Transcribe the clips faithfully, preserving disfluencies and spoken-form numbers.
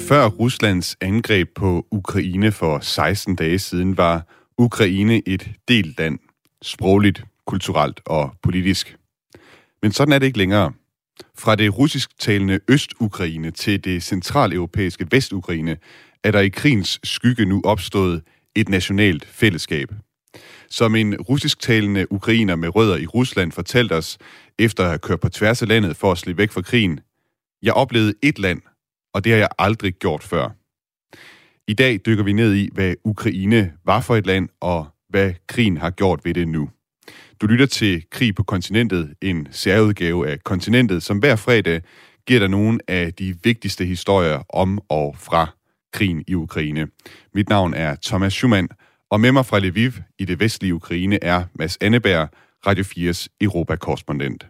Før Ruslands angreb på Ukraine for seksten dage siden, var Ukraine et delt land, sprogligt, kulturelt og politisk. Men sådan er det ikke længere. Fra det russisktalende Øst-Ukraine til det centraleuropæiske Vest-Ukraine er der i krigens skygge nu opstået et nationalt fællesskab. Som en russisktalende ukrainer med rødder i Rusland fortalte os, efter at have kørt på tværs af landet for at slippe væk fra krigen: Jeg oplevede et land, og det har jeg aldrig gjort før. I dag dykker vi ned i, hvad Ukraine var for et land, og hvad krigen har gjort ved det nu. Du lytter til Krig på kontinentet, en særudgave af Kontinentet, som hver fredag giver dig nogle af de vigtigste historier om og fra krigen i Ukraine. Mit navn er Thomas Schumann, og med mig fra Lviv i det vestlige Ukraine er Mads Anneberg, Radio fires Europa-korrespondent.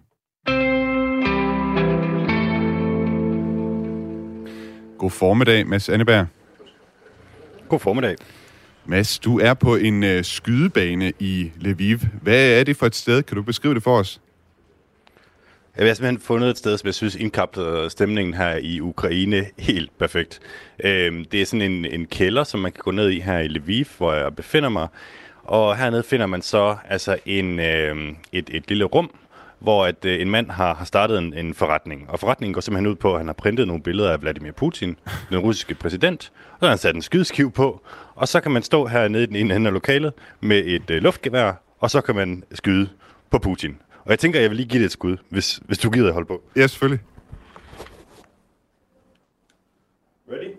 God formiddag, Mads Anneberg. God formiddag. Mads, du er på en øh, skydebane i Lviv. Hvad er det for et sted? Kan du beskrive det for os? Jeg har simpelthen fundet et sted, som jeg synes indkapsler stemningen her i Ukraine helt perfekt. Øhm, det er sådan en, en kælder, som man kan gå ned i her i Lviv, hvor jeg befinder mig. Og hernede finder man så altså en, øh, et, et lille rum, hvor at, øh, en mand har, har startet en, en forretning. Og forretningen går simpelthen ud på, at han har printet nogle billeder af Vladimir Putin, den russiske præsident, og så har han sat en skydeskive på, og så kan man stå hernede i den ene ende af lokalet med et øh, luftgevær, og så kan man skyde på Putin. Og jeg tænker, jeg vil lige give det et skud, hvis, hvis du gider at holde på. Ja, selvfølgelig. Ready?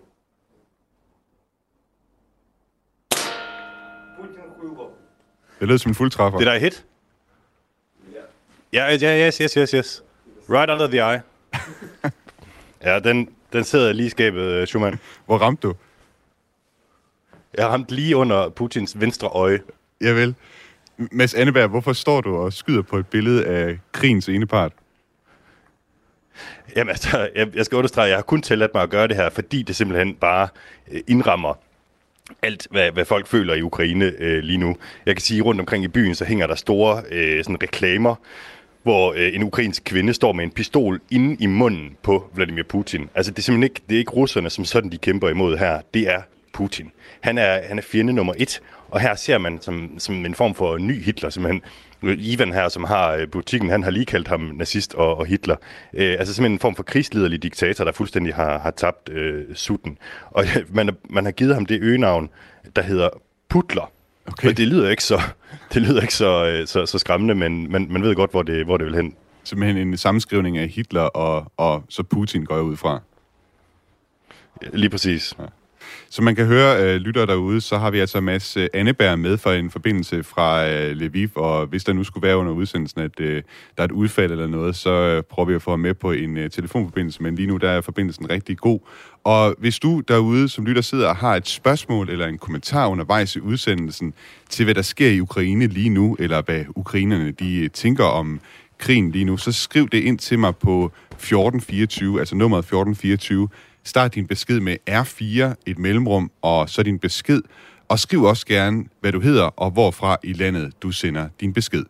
Det lød som en fuldtræffer. Did I hit? Ja, yeah. yeah, yes, yes, yes, yes. Right under the eye. Ja, den, den sidder lige i skabet, Schumann. Hvor ramte du? Jeg har ramt lige under Putins venstre øje. Jeg vil. Mads Anneberg, hvorfor står du og skyder på et billede af krigens ene part? Jamen altså, jeg, jeg skal understrege, jeg har kun tilladt mig at gøre det her, fordi det simpelthen bare indrammer alt, hvad, hvad folk føler i Ukraine øh, lige nu. Jeg kan sige, rundt omkring i byen, så hænger der store øh, sådan reklamer, hvor øh, en ukrainsk kvinde står med en pistol inde i munden på Vladimir Putin. Altså, det er simpelthen ikke, det er ikke russerne, som sådan de kæmper imod her. Det er Putin. Han er, han er fjende nummer et, og her ser man som, som en form for ny Hitler, simpelthen. Ivan her, som har butikken, han har lige kaldt ham nazist og, og Hitler. Øh, altså simpelthen en form for krigsliderlig diktator, der fuldstændig har, har tabt øh, sutten. Og man, man har givet ham det øgenavn, der hedder Putler. Okay. Og det lyder ikke så, det lyder ikke så, så, så skræmmende, men man, man ved godt, hvor det, hvor det vil hen. Simpelthen en sammenskrivning af Hitler og, og så Putin går jeg ud fra. Lige præcis. Ja. Som man kan høre, øh, lytter derude, så har vi altså Mads Anneberg med for en forbindelse fra øh, Lviv, og hvis der nu skulle være under udsendelsen, at øh, der er et udfald eller noget, så øh, prøver vi at få ham med på en øh, telefonforbindelse, men lige nu der er forbindelsen rigtig god. Og hvis du derude, som lytter, sidder og har et spørgsmål eller en kommentar undervejs i udsendelsen til, hvad der sker i Ukraine lige nu, eller hvad ukrainerne de tænker om krigen lige nu, så skriv det ind til mig på fjorten fireogtyve, altså nummeret fjorten fireogtyve. Start din besked med R fire, et mellemrum, og så din besked. Og skriv også gerne, hvad du hedder, og hvorfra i landet du sender din besked.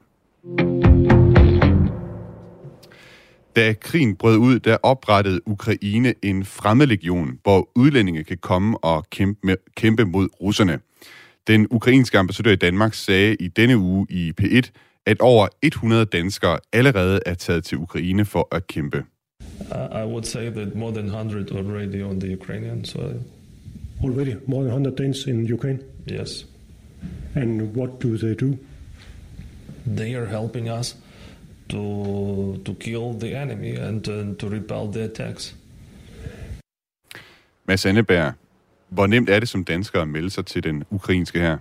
Da krigen brød ud, der oprettede Ukraine en fremmedlegion, hvor udlændinge kan komme og kæmpe, med, kæmpe mod russerne. Den ukrainske ambassadør i Danmark sagde i denne uge i P et, at over hundrede danskere allerede er taget til Ukraine for at kæmpe. I would say that more than one hundred already on the Ukrainian soil. Already? More than one hundred Danes in Ukraine? Yes. And what do they do? They are helping us to to kill the enemy and uh, to repel the attacks. Mads Anneberg, hvor nemt er det som dansker at melde sig til den ukrainske hær?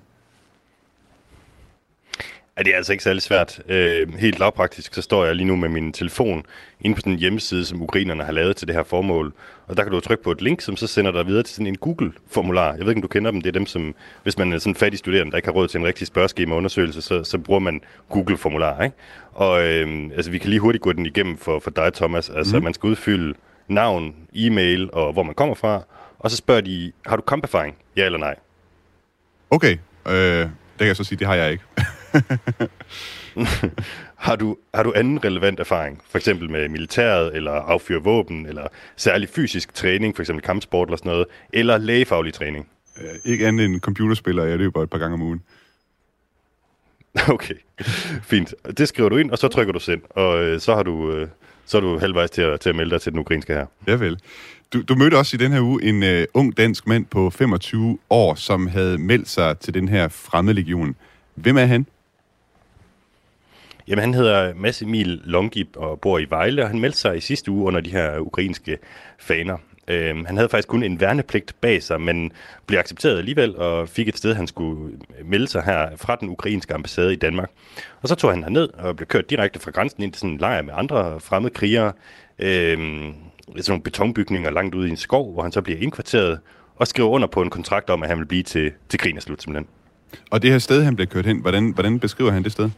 Ja, det er altså ikke særlig svært. Øh, helt lavpraktisk, så står jeg lige nu med min telefon inde på sådan en hjemmeside, som ukrainerne har lavet til det her formål. Og der kan du trykke på et link, som så sender dig videre til sådan en Google-formular. Jeg ved ikke, om du kender dem. Det er dem, som, hvis man er sådan en fattig studerende, der ikke har råd til en rigtig spørgeskema-undersøgelse, så, så bruger man Google-formular, ikke? Og øh, altså, vi kan lige hurtigt gå den igennem for, for dig, Thomas. Altså, mm. man skal udfylde navn, e-mail og hvor man kommer fra. Og så spørger de, har du kamperfaring? Ja eller nej? Okay, øh, det kan jeg så sige, det har jeg ikke. har, du, har du anden relevant erfaring, for eksempel med militæret, eller affyre våben, eller særlig fysisk træning, for eksempel kampsport eller sådan noget, eller lægefaglig træning? Øh, ikke andet end computerspiller, jeg løber et par gange om ugen. Okay, fint. Det skriver du ind, og så trykker du send, og øh, så har du... Øh, så er du halvvejs til at, til at melde dig til den ukrainske her. Ja vel. Du, du mødte også i den her uge en uh, ung dansk mand på femogtyve år, som havde meldt sig til den her fremmedlegion. Hvem er han? Jamen, han hedder Mads Emil Longib og bor i Vejle, og han meldte sig i sidste uge under de her ukrainske faner. Uh, han havde faktisk kun en værnepligt bag sig, men blev accepteret alligevel og fik et sted, han skulle melde sig her fra den ukrainske ambassade i Danmark. Og så tog han herned og blev kørt direkte fra grænsen ind til sådan en lejr med andre fremmede krigere. Uh, sådan nogle betonbygninger langt ude i en skov, hvor han så bliver indkvarteret og skriver under på en kontrakt om, at han vil blive til, til krigen er slut simpelthen. Og det her sted, han blev kørt hen, hvordan, hvordan beskriver han det sted?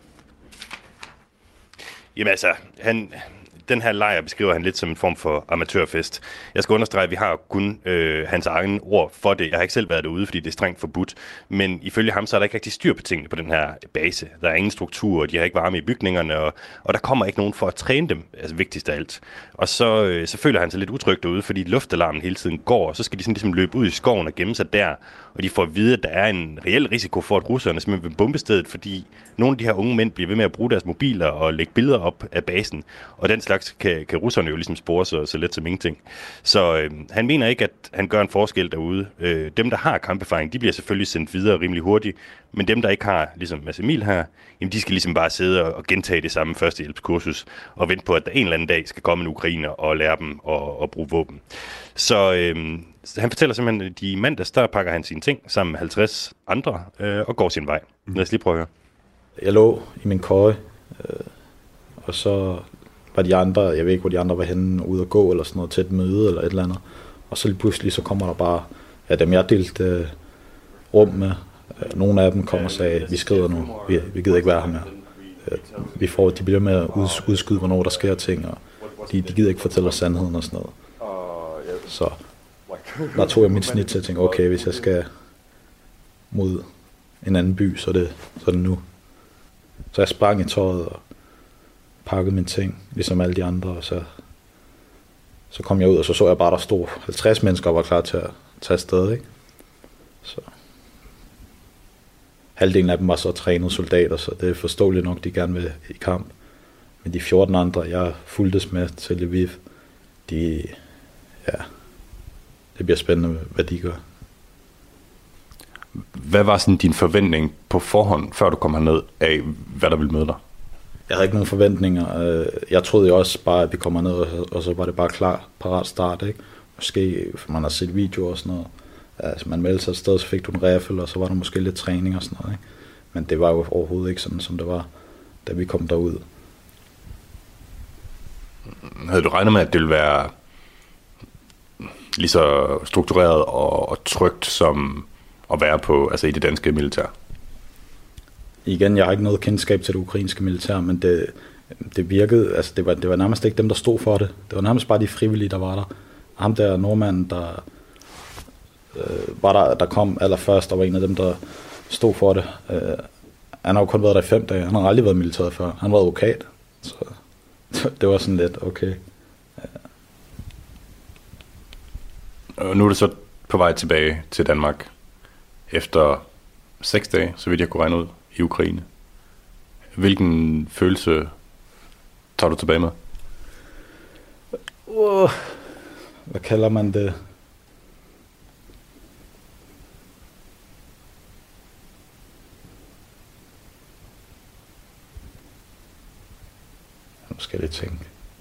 Jamen altså, han... Den her lejr beskriver han lidt som en form for amatørfest. Jeg skal understrege, at vi har kun øh, hans egen ord for det. Jeg har ikke selv været derude, fordi det er strengt forbudt. Men ifølge ham, så er der ikke rigtig styr på tingene på den her base. Der er ingen struktur, de har ikke varme i bygningerne, og, og der kommer ikke nogen for at træne dem, altså vigtigst af alt. Og så, øh, så føler han sig lidt utryg derude, fordi luftalarmen hele tiden går, og så skal de sådan ligesom løbe ud i skoven og gemme sig der. Og de får at vide, at der er en reel risiko for, at russerne simpelthen vil bombe stedet, fordi nogle af de her unge mænd bliver ved med at bruge deres mobiler og lægge billeder op af basen. Og den slags kan, kan russerne jo ligesom spore så, så let som ingenting. Så øh, han mener ikke, at han gør en forskel derude. Øh, dem, der har kamperfaring, de bliver selvfølgelig sendt videre rimelig hurtigt. Men dem, der ikke har, ligesom Mads Emil her, jamen de skal ligesom bare sidde og, og gentage det samme førstehjælpskursus og vente på, at der en eller anden dag skal komme en ukrainer og lære dem at, at bruge våben. Så øh, han fortæller simpelthen, at de mandags, der pakker han sine ting sammen med halvtreds andre øh, og går sin vej. Lad os lige prøve at høre. Jeg lå i min køje, øh, og så var de andre, jeg ved ikke, hvor de andre var henne, ude at gå eller sådan noget, til et møde eller et eller andet. Og så lige pludselig, så kommer der bare, ja, dem jeg delte øh, rum med, øh, nogle af dem kom og sagde, vi skrider nu, vi, vi gider ikke være her mere. Øh, vi får, de bliver med at udskyde, hvornår der sker ting, og de, de gider ikke fortælle os sandheden og sådan noget. Så der tog jeg mit snit til at tænke, okay, hvis jeg skal mod en anden by, så er det, så er det nu. Så jeg sprang i tøjet og pakkede mine ting, ligesom alle de andre, og så, så kom jeg ud, og så så jeg bare, der stod halvtreds mennesker og var klar til at tage afsted, ikke? Så halvdelen af dem var så trænede soldater, så det er forståeligt nok, de gerne vil i kamp. Men de fjorten andre, jeg fulgtes med til Lviv, de, ja, det bliver spændende, hvad de gør. Hvad var sådan din forventning på forhånd, før du kom herned, af hvad der ville møde dig? Jeg havde ikke nogen forventninger. Jeg troede jo også bare, at vi kommer ned, og så var det bare klar, parat start, ikke? Måske, for man har set videoer og sådan noget. Altså, man meldte sig et sted, så fik du en riffel, og så var der måske lidt træning og sådan noget, ikke? Men det var jo overhovedet ikke sådan, som det var, da vi kom derud. Havde du regnet med, at det ville være lige så struktureret og, og trygt som at være på, altså i det danske militær? Igen, jeg har ikke noget kendskab til det ukrainske militær, men det, det virkede, altså det var, det var nærmest ikke dem, der stod for det. Det var nærmest bare de frivillige, der var der. Ham der nordmanden, der øh, var der, der kom allerførst, der var en af dem, der stod for det. Øh, han har jo kun været der i fem dage. Han har aldrig været militæret før. Han var advokat, så det var sådan lidt okay. Ja. Og nu er det så på vej tilbage til Danmark efter seks dage, så vidt jeg kunne regne ud, i Ukraine. Hvilken følelse tager du tilbage med? Uh, hvad kalder man det? Nu skal jeg lige tænke.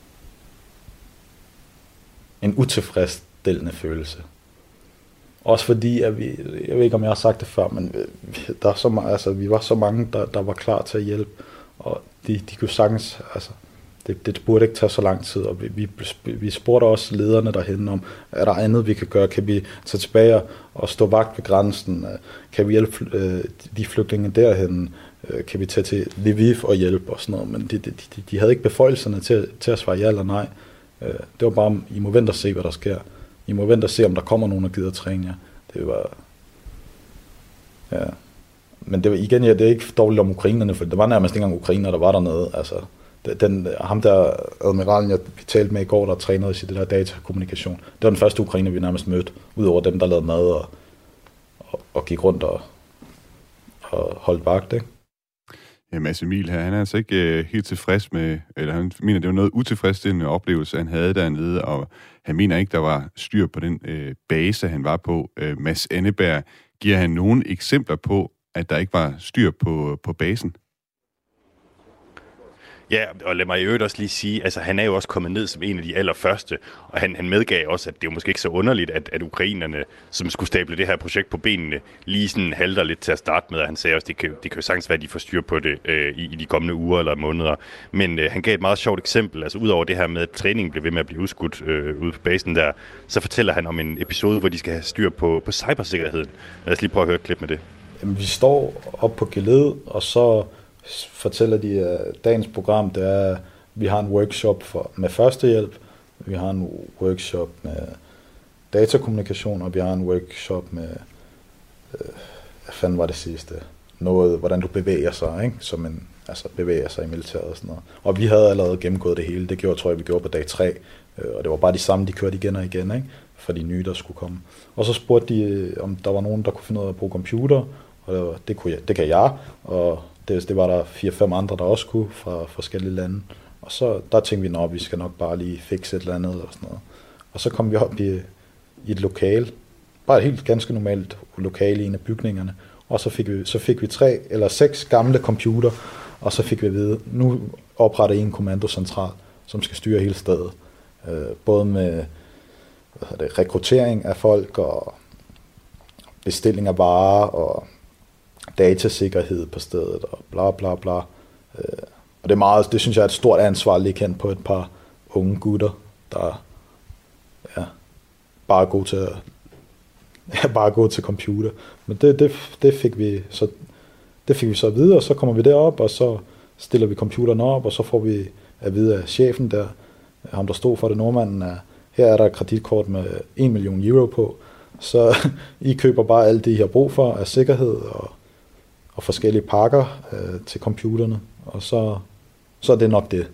En utilfredsstillende følelse. Også fordi, at vi, jeg ved ikke, om jeg har sagt det før, men der er så meget, altså, vi var så mange, der, der var klar til at hjælpe, og de, de kunne sagtens, altså, det, det burde ikke tage så lang tid, og vi, vi, vi spurgte også lederne derhen om, er der andet, vi kan gøre? Kan vi tage tilbage og stå vagt ved grænsen? Kan vi hjælpe øh, de flygtninge derhen? Kan vi tage til Lviv og hjælpe og sådan noget? Men de, de, de, de havde ikke beføjelserne til, til at svare ja eller nej. Det var bare, I må vente og se, hvad der sker. I må vente og se, om der kommer nogen, der gider træne jer. Det var, ja. men det var igen, ja, det er ikke dårligt om ukrainerne, for det var nærmest ikke engang ukrainer, der var dernede. Altså, den, ham der admiralen, jeg talte med i går, der trænede i det der datakommunikation, det var den første ukrainer, vi nærmest mødte, udover dem, der lavede mad og, og, og gik rundt og, og holdt vagt, ikke? Ja, Mads Emil her, han er altså ikke øh, helt tilfreds med, eller han mener, det var noget utilfredsstillende oplevelse, han havde dernede, og han mener ikke, der var styr på den øh, base, han var på. Øh, Mads Anneberg, giver han nogle eksempler på, at der ikke var styr på, på basen? Ja, og lad mig i øvrigt også lige sige, altså han er jo også kommet ned som en af de allerførste, og han, han medgav også, at det er jo måske ikke så underligt, at, at ukrainerne, som skulle stable det her projekt på benene, lige sådan halter lidt til at starte med, og han sagde også, at det kan, det kan jo sagtens være, at de får styr på det øh, i, i de kommende uger eller måneder. Men øh, han gav et meget sjovt eksempel, altså udover det her med, at træningen blev ved med at blive udskudt øh, ude på basen der, så fortæller han om en episode, hvor de skal have styr på, på cybersikkerheden. Lad os lige prøve at høre et klip med det. Jamen, vi står op på geled, og så fortæller de, at dagens program, det er, at vi har en workshop for, med førstehjælp, vi har en workshop med datakommunikation, og vi har en workshop med, øh, hvad fanden var det sidste? Noget, hvordan du bevæger sig, ikke? Som en, altså bevæger sig i militæret og sådan noget. Og vi havde allerede gennemgået det hele, det gjorde, tror jeg, vi gjorde på dag tre, øh, og det var bare de samme, de kørte igen og igen, ikke? For de nye, der skulle komme. Og så spurgte de, om der var nogen, der kunne finde ud af at bruge computer, og det, kunne jeg, det kan jeg, og Det, det var der fire-fem andre, der også kunne fra forskellige lande. Og så der tænkte vi, at vi skal nok bare lige fikse et eller andet og sådan noget. Og så kom vi op i, i et lokale, bare et helt ganske normalt lokale i en af bygningerne. Og så fik vi, så fik vi tre eller seks gamle computer, og så fik vi at vide, nu opretter I en kommandocentral, som skal styre hele stedet. Øh, både med hvad hedder det, rekruttering af folk og bestilling af varer og datasikkerhed på stedet og bla bla bla. Øh, og det er meget, det synes jeg er et stort ansvar at ligge hen på et par unge gutter, der ja, bare er gode til at, ja, bare er gode til computer. Men det, det, det fik vi så det fik vi så at vide, og så kommer vi derop, og så stiller vi computeren op, og så får vi at vide af chefen der, ham der stod for det, nordmanden, at her er der et kreditkort med en million euro på, så I køber bare alt det, I har brug for af sikkerhed og og forskellige pakker øh, til computerne, og så, så er det nok det.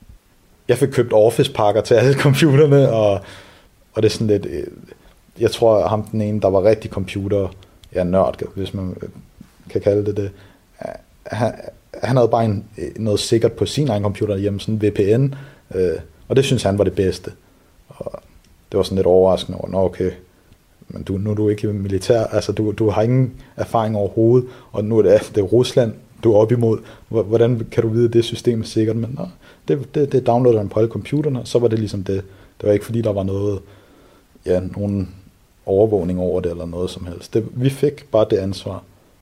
Jeg fik købt Office-pakker til alle computerne, og, og det er sådan lidt, øh, jeg tror, ham den ene, der var rigtig computer, ja, nørd, hvis man kan kalde det det, han, han havde bare en, noget sikkert på sin egen computer hjemme, sådan en V P N, øh, og det synes han var det bedste. Og det var sådan lidt overraskende over, nå okay, men du, nu er du ikke militær, altså du, du har ingen erfaring overhovedet, og nu er det, det er Rusland, du er op imod. Hvordan kan du vide, at det system er sikkert? Men nå, det, det, det downloadede han på alle computerne, så var det ligesom det. Det var ikke fordi, der var noget, ja, nogen overvågning over det, eller noget som helst. Det, vi fik bare det ansvar.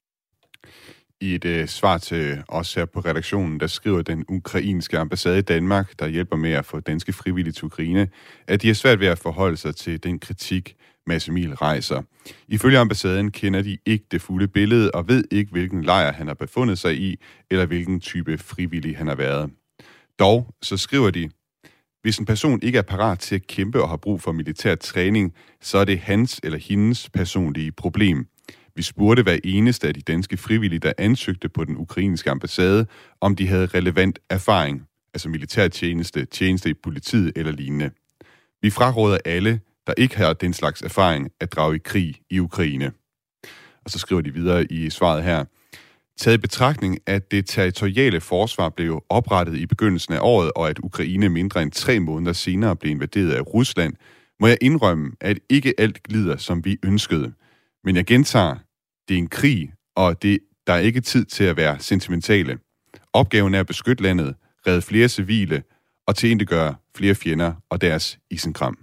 I et øh, svar til os her på redaktionen, der skriver den ukrainske ambassade i Danmark, der hjælper med at få danske frivillige til Ukraine, at de er svært ved at forholde sig til den kritik, Mads Emil rejser. Ifølge ambassaden kender de ikke det fulde billede og ved ikke, hvilken lejr han har befundet sig i, eller hvilken type frivillig han har været. Dog så skriver de, hvis en person ikke er parat til at kæmpe og har brug for militær træning, så er det hans eller hendes personlige problem. Vi spurgte hver eneste af de danske frivillige, der ansøgte på den ukrainske ambassade, om de havde relevant erfaring, altså militærtjeneste, tjeneste i politiet eller lignende. Vi fraråder alle, der ikke har den slags erfaring, at drage i krig i Ukraine. Og så skriver de videre i svaret her. Taget i betragtning, at det territoriale forsvar blev oprettet i begyndelsen af året, og at Ukraine mindre end tre måneder senere blev invaderet af Rusland, må jeg indrømme, at ikke alt glider, som vi ønskede. Men jeg gentager, det er en krig, og det, der er ikke tid til at være sentimentale. Opgaven er at beskytte landet, redde flere civile og tilintetgøre flere fjender og deres isenkram.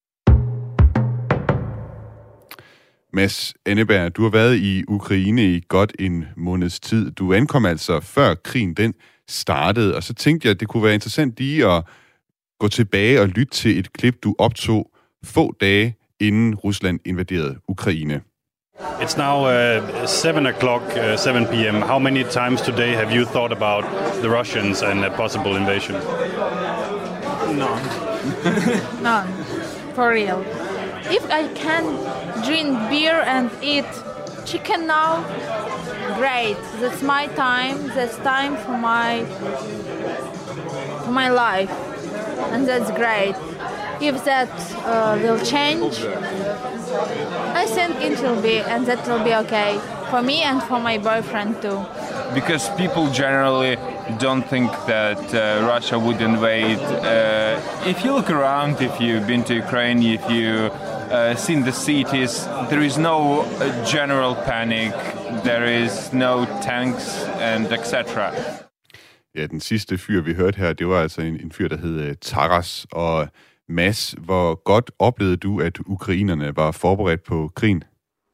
Mads Anneberg, du har været i Ukraine i godt en måneds tid. Du ankom altså før krigen den startede, og så tænkte jeg, at det kunne være interessant lige at gå tilbage og lytte til et klip, du optog få dage inden Rusland invaderede Ukraine. It's now uh, seven o'clock, uh, seven p.m. How many times today have you thought about the Russians and a possible invasion? None. None. For real. If I can drink beer and eat chicken now, great. That's my time. That's time for my for my life, and that's great. If that uh, will change, I think it will be, and that will be okay for me and for my boyfriend too. Because people generally don't think that uh, Russia would invade. Uh, if you look around, if you've been to Ukraine, if you uh, seen the cities, there is no uh, general panic. There is no tanks and et cetera. Ja, den sidste fyr, vi hørte her, det var altså en, en fyr, der hed uh, Taras. Og Mads, hvor godt oplevede du, at ukrainerne var forberedt på krigen?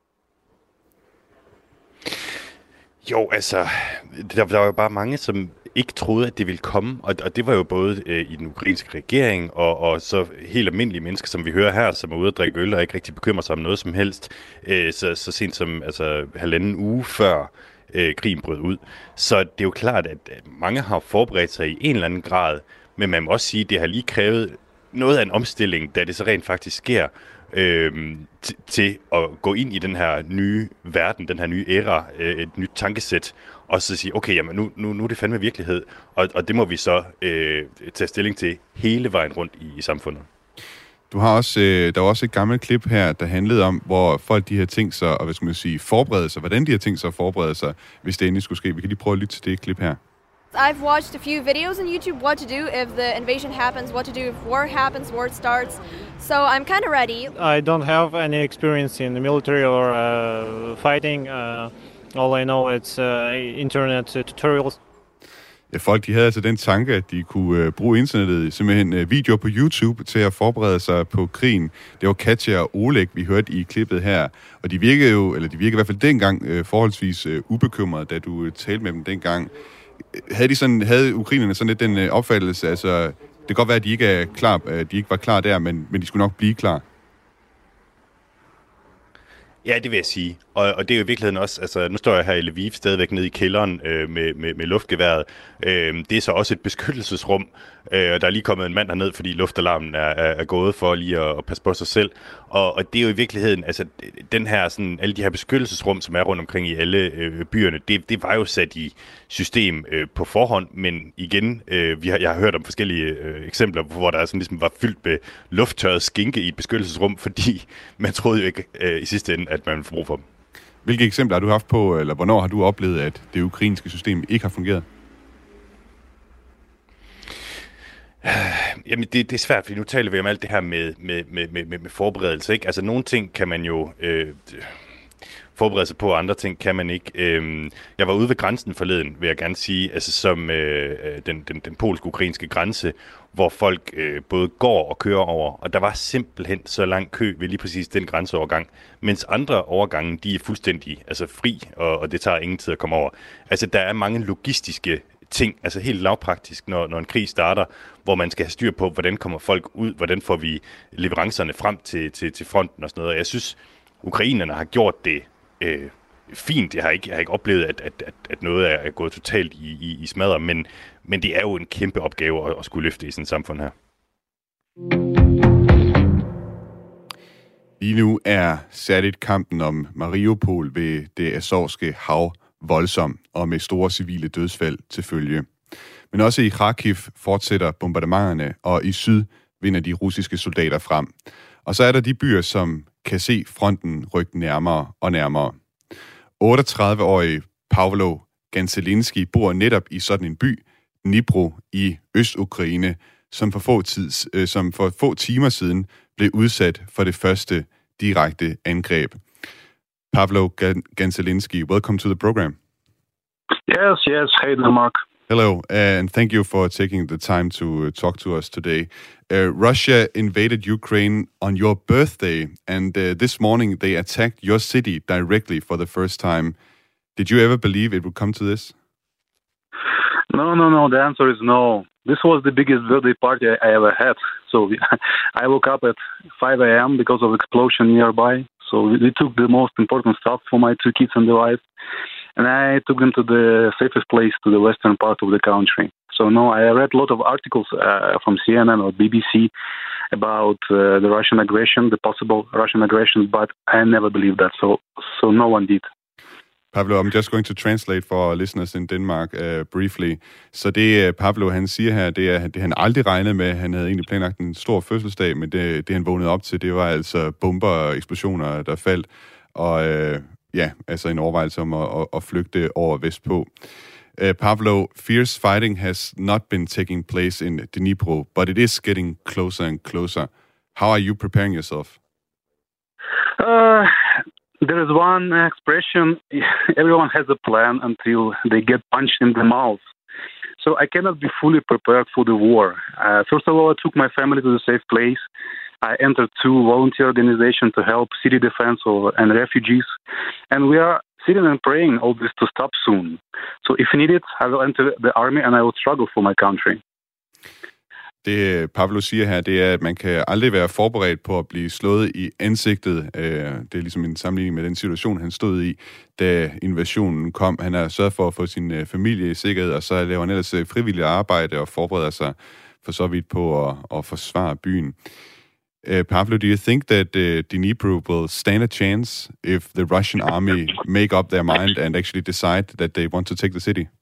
Jo, altså, der, der var jo bare mange, som ikke troede, at det ville komme, og, og det var jo både øh, i den ukrainske regering, og, og så helt almindelige mennesker, som vi hører her, som er ude at drikke øl og ikke rigtig bekymrer sig om noget som helst, øh, så, så sent som altså, halvanden uge før øh, krigen brød ud. Så det er jo klart, at mange har forberedt sig i en eller anden grad, men man må også sige, at det har lige krævet noget af en omstilling, da det så rent faktisk sker, øh, t- til at gå ind i den her nye verden, den her nye æra, øh, et nyt tankesæt, og så sige, okay, jamen nu, nu, nu er det fandme virkelighed, og, og det må vi så øh, tage stilling til hele vejen rundt i, i samfundet. Du har også, øh, der var også et gammelt klip her, der handlede om, hvor folk de her ting sig, og hvad skal man sige, forberede sig, hvordan de her ting sig at forberede sig, hvis det endelig skulle ske. Vi kan lige prøve at lytte til det klip her. I've watched a few videos on YouTube what to do if the invasion happens, what to do if war happens, war starts. So I'm kind of ready. I don't have any experience in the military or uh, fighting. Uh, all I know is uh, internet tutorials. Ja, folk de havde altså den tanke, at de kunne uh, bruge internettet, simpelthen uh, videoer på YouTube til at forberede sig på krigen. Det var Katja og Oleg, vi hørte i klippet her. Og de virkede jo, eller de virkede i hvert fald dengang uh, forholdsvis uh, ubekymrede, da du uh, talte med dem dengang. Havde, de sådan, havde ukrainerne sådan lidt den uh, opfattelse, altså det kan godt være, at de ikke er klar, uh, de ikke var klar der, men, men de skulle nok blive klar? Ja, det vil jeg sige. Og, og det er jo i virkeligheden også, altså nu står jeg her i Lviv stadigvæk nede i kælderen øh, med, med, med luftgeværet. Øh, det er så også et beskyttelsesrum, øh, og der er lige kommet en mand herned, fordi luftalarmen er, er, er gået for lige at, at passe på sig selv. Og, og det er jo i virkeligheden, altså den her, sådan, alle de her beskyttelsesrum, som er rundt omkring i alle øh, byerne, det, det var jo sat i system øh, på forhånd, men igen, øh, vi har, jeg har hørt om forskellige øh, eksempler, hvor der sådan ligesom var fyldt med lufttørret skinke i et beskyttelsesrum, fordi man troede jo ikke øh, i sidste ende, at man ville få brug for dem. Hvilke eksempler har du haft på, eller hvornår har du oplevet, at det ukrainske system ikke har fungeret? Jamen, det, det er svært, fordi nu taler vi om alt det her med, med, med, med, med forberedelse, ikke? Altså, nogle ting kan man jo øh, forberede sig på, og andre ting kan man ikke. Øh, jeg var ude ved grænsen forleden, vil jeg gerne sige, altså som øh, den, den, den polsk-ukrainske grænse, hvor folk øh, både går og kører over, og der var simpelthen så lang kø ved lige præcis den grænseovergang, mens andre overgange, de er fuldstændig altså fri, og, og det tager ingen tid at komme over. Altså, der er mange logistiske ting, altså helt lavpraktisk, når, når en krig starter, hvor man skal have styr på, hvordan kommer folk ud, hvordan får vi leverancerne frem til, til, til fronten og sådan noget. Og jeg synes, ukrainerne har gjort det øh, fint. Jeg har ikke, jeg har ikke oplevet, at, at, at, at noget er gået totalt i, i, i smadder, men, men det er jo en kæmpe opgave at, at skulle løfte i sådan et samfund her. Lige nu er særligt kampen om Mariupol ved det Azovske hav voldsom og med store civile dødsfald til følge. Men også i Kharkiv fortsætter bombardementerne, og i syd vinder de russiske soldater frem. Og så er der de byer, som kan se fronten rykke nærmere og nærmere. otteogtredive-årige Pavlo Ganselinski bor netop i sådan en by, Dnipro i Øst-Ukraine, som for få, tids, øh, som for få timer siden blev udsat for det første direkte angreb. Pavlo Ganselinski, welcome to the program. Yes, yes. Hey, Mark. Hello, and thank you for taking the time to talk to us today. Uh, Russia invaded Ukraine on your birthday, and uh, this morning they attacked your city directly for the first time. Did you ever believe it would come to this? No, no, no. The answer is no. This was the biggest birthday party I ever had. So I woke up at five a.m. because of explosion nearby. So we took the most important stuff for my two kids and the wife, and I took them to the safest place, to the western part of the country. So no, I read a lot of articles uh, from C N N or B B C about uh, the Russian aggression, the possible Russian aggression, but I never believed that. So, so no one did. Pavlo, I'm just going to translate for our listeners in Denmark uh, briefly. Så det uh, Pavlo, han siger her, det er det han aldrig regnede med. Han havde egentlig planlagt en stor fødselsdag, men det, det han vågnede op til, det var altså bomber og eksplosioner, der faldt. Og uh, ja, altså en overvejelse om at, at, at flygte over vestpå. Uh, Pavlo, fierce fighting has not been taking place in Dnipro, but it is getting closer and closer. How are you preparing yourself? Uh, there is one expression, everyone has a plan until they get punched in the mouth. So I cannot be fully prepared for the war. Uh, first of all, I took my family to a safe place. I entered two volunteer organizations to help city defense and refugees. And we are sitting and praying all this to stop soon. So if needed, I will enter the army and I will struggle for my country. Det Pavlo siger her, det er, at man kan aldrig være forberedt på at blive slået i ansigtet. Det er ligesom en sammenligning med den situation, han stod i, da invasionen kom. Han har sørget for at få sin familie i sikkerhed, og så laver han ellers frivilligt arbejde og forbereder sig for så vidt på at, at forsvare byen. Uh, Pavlo, do you think that uh, Dnipro will stand a chance if the Russian army make up their mind and actually decide that they want to take the city?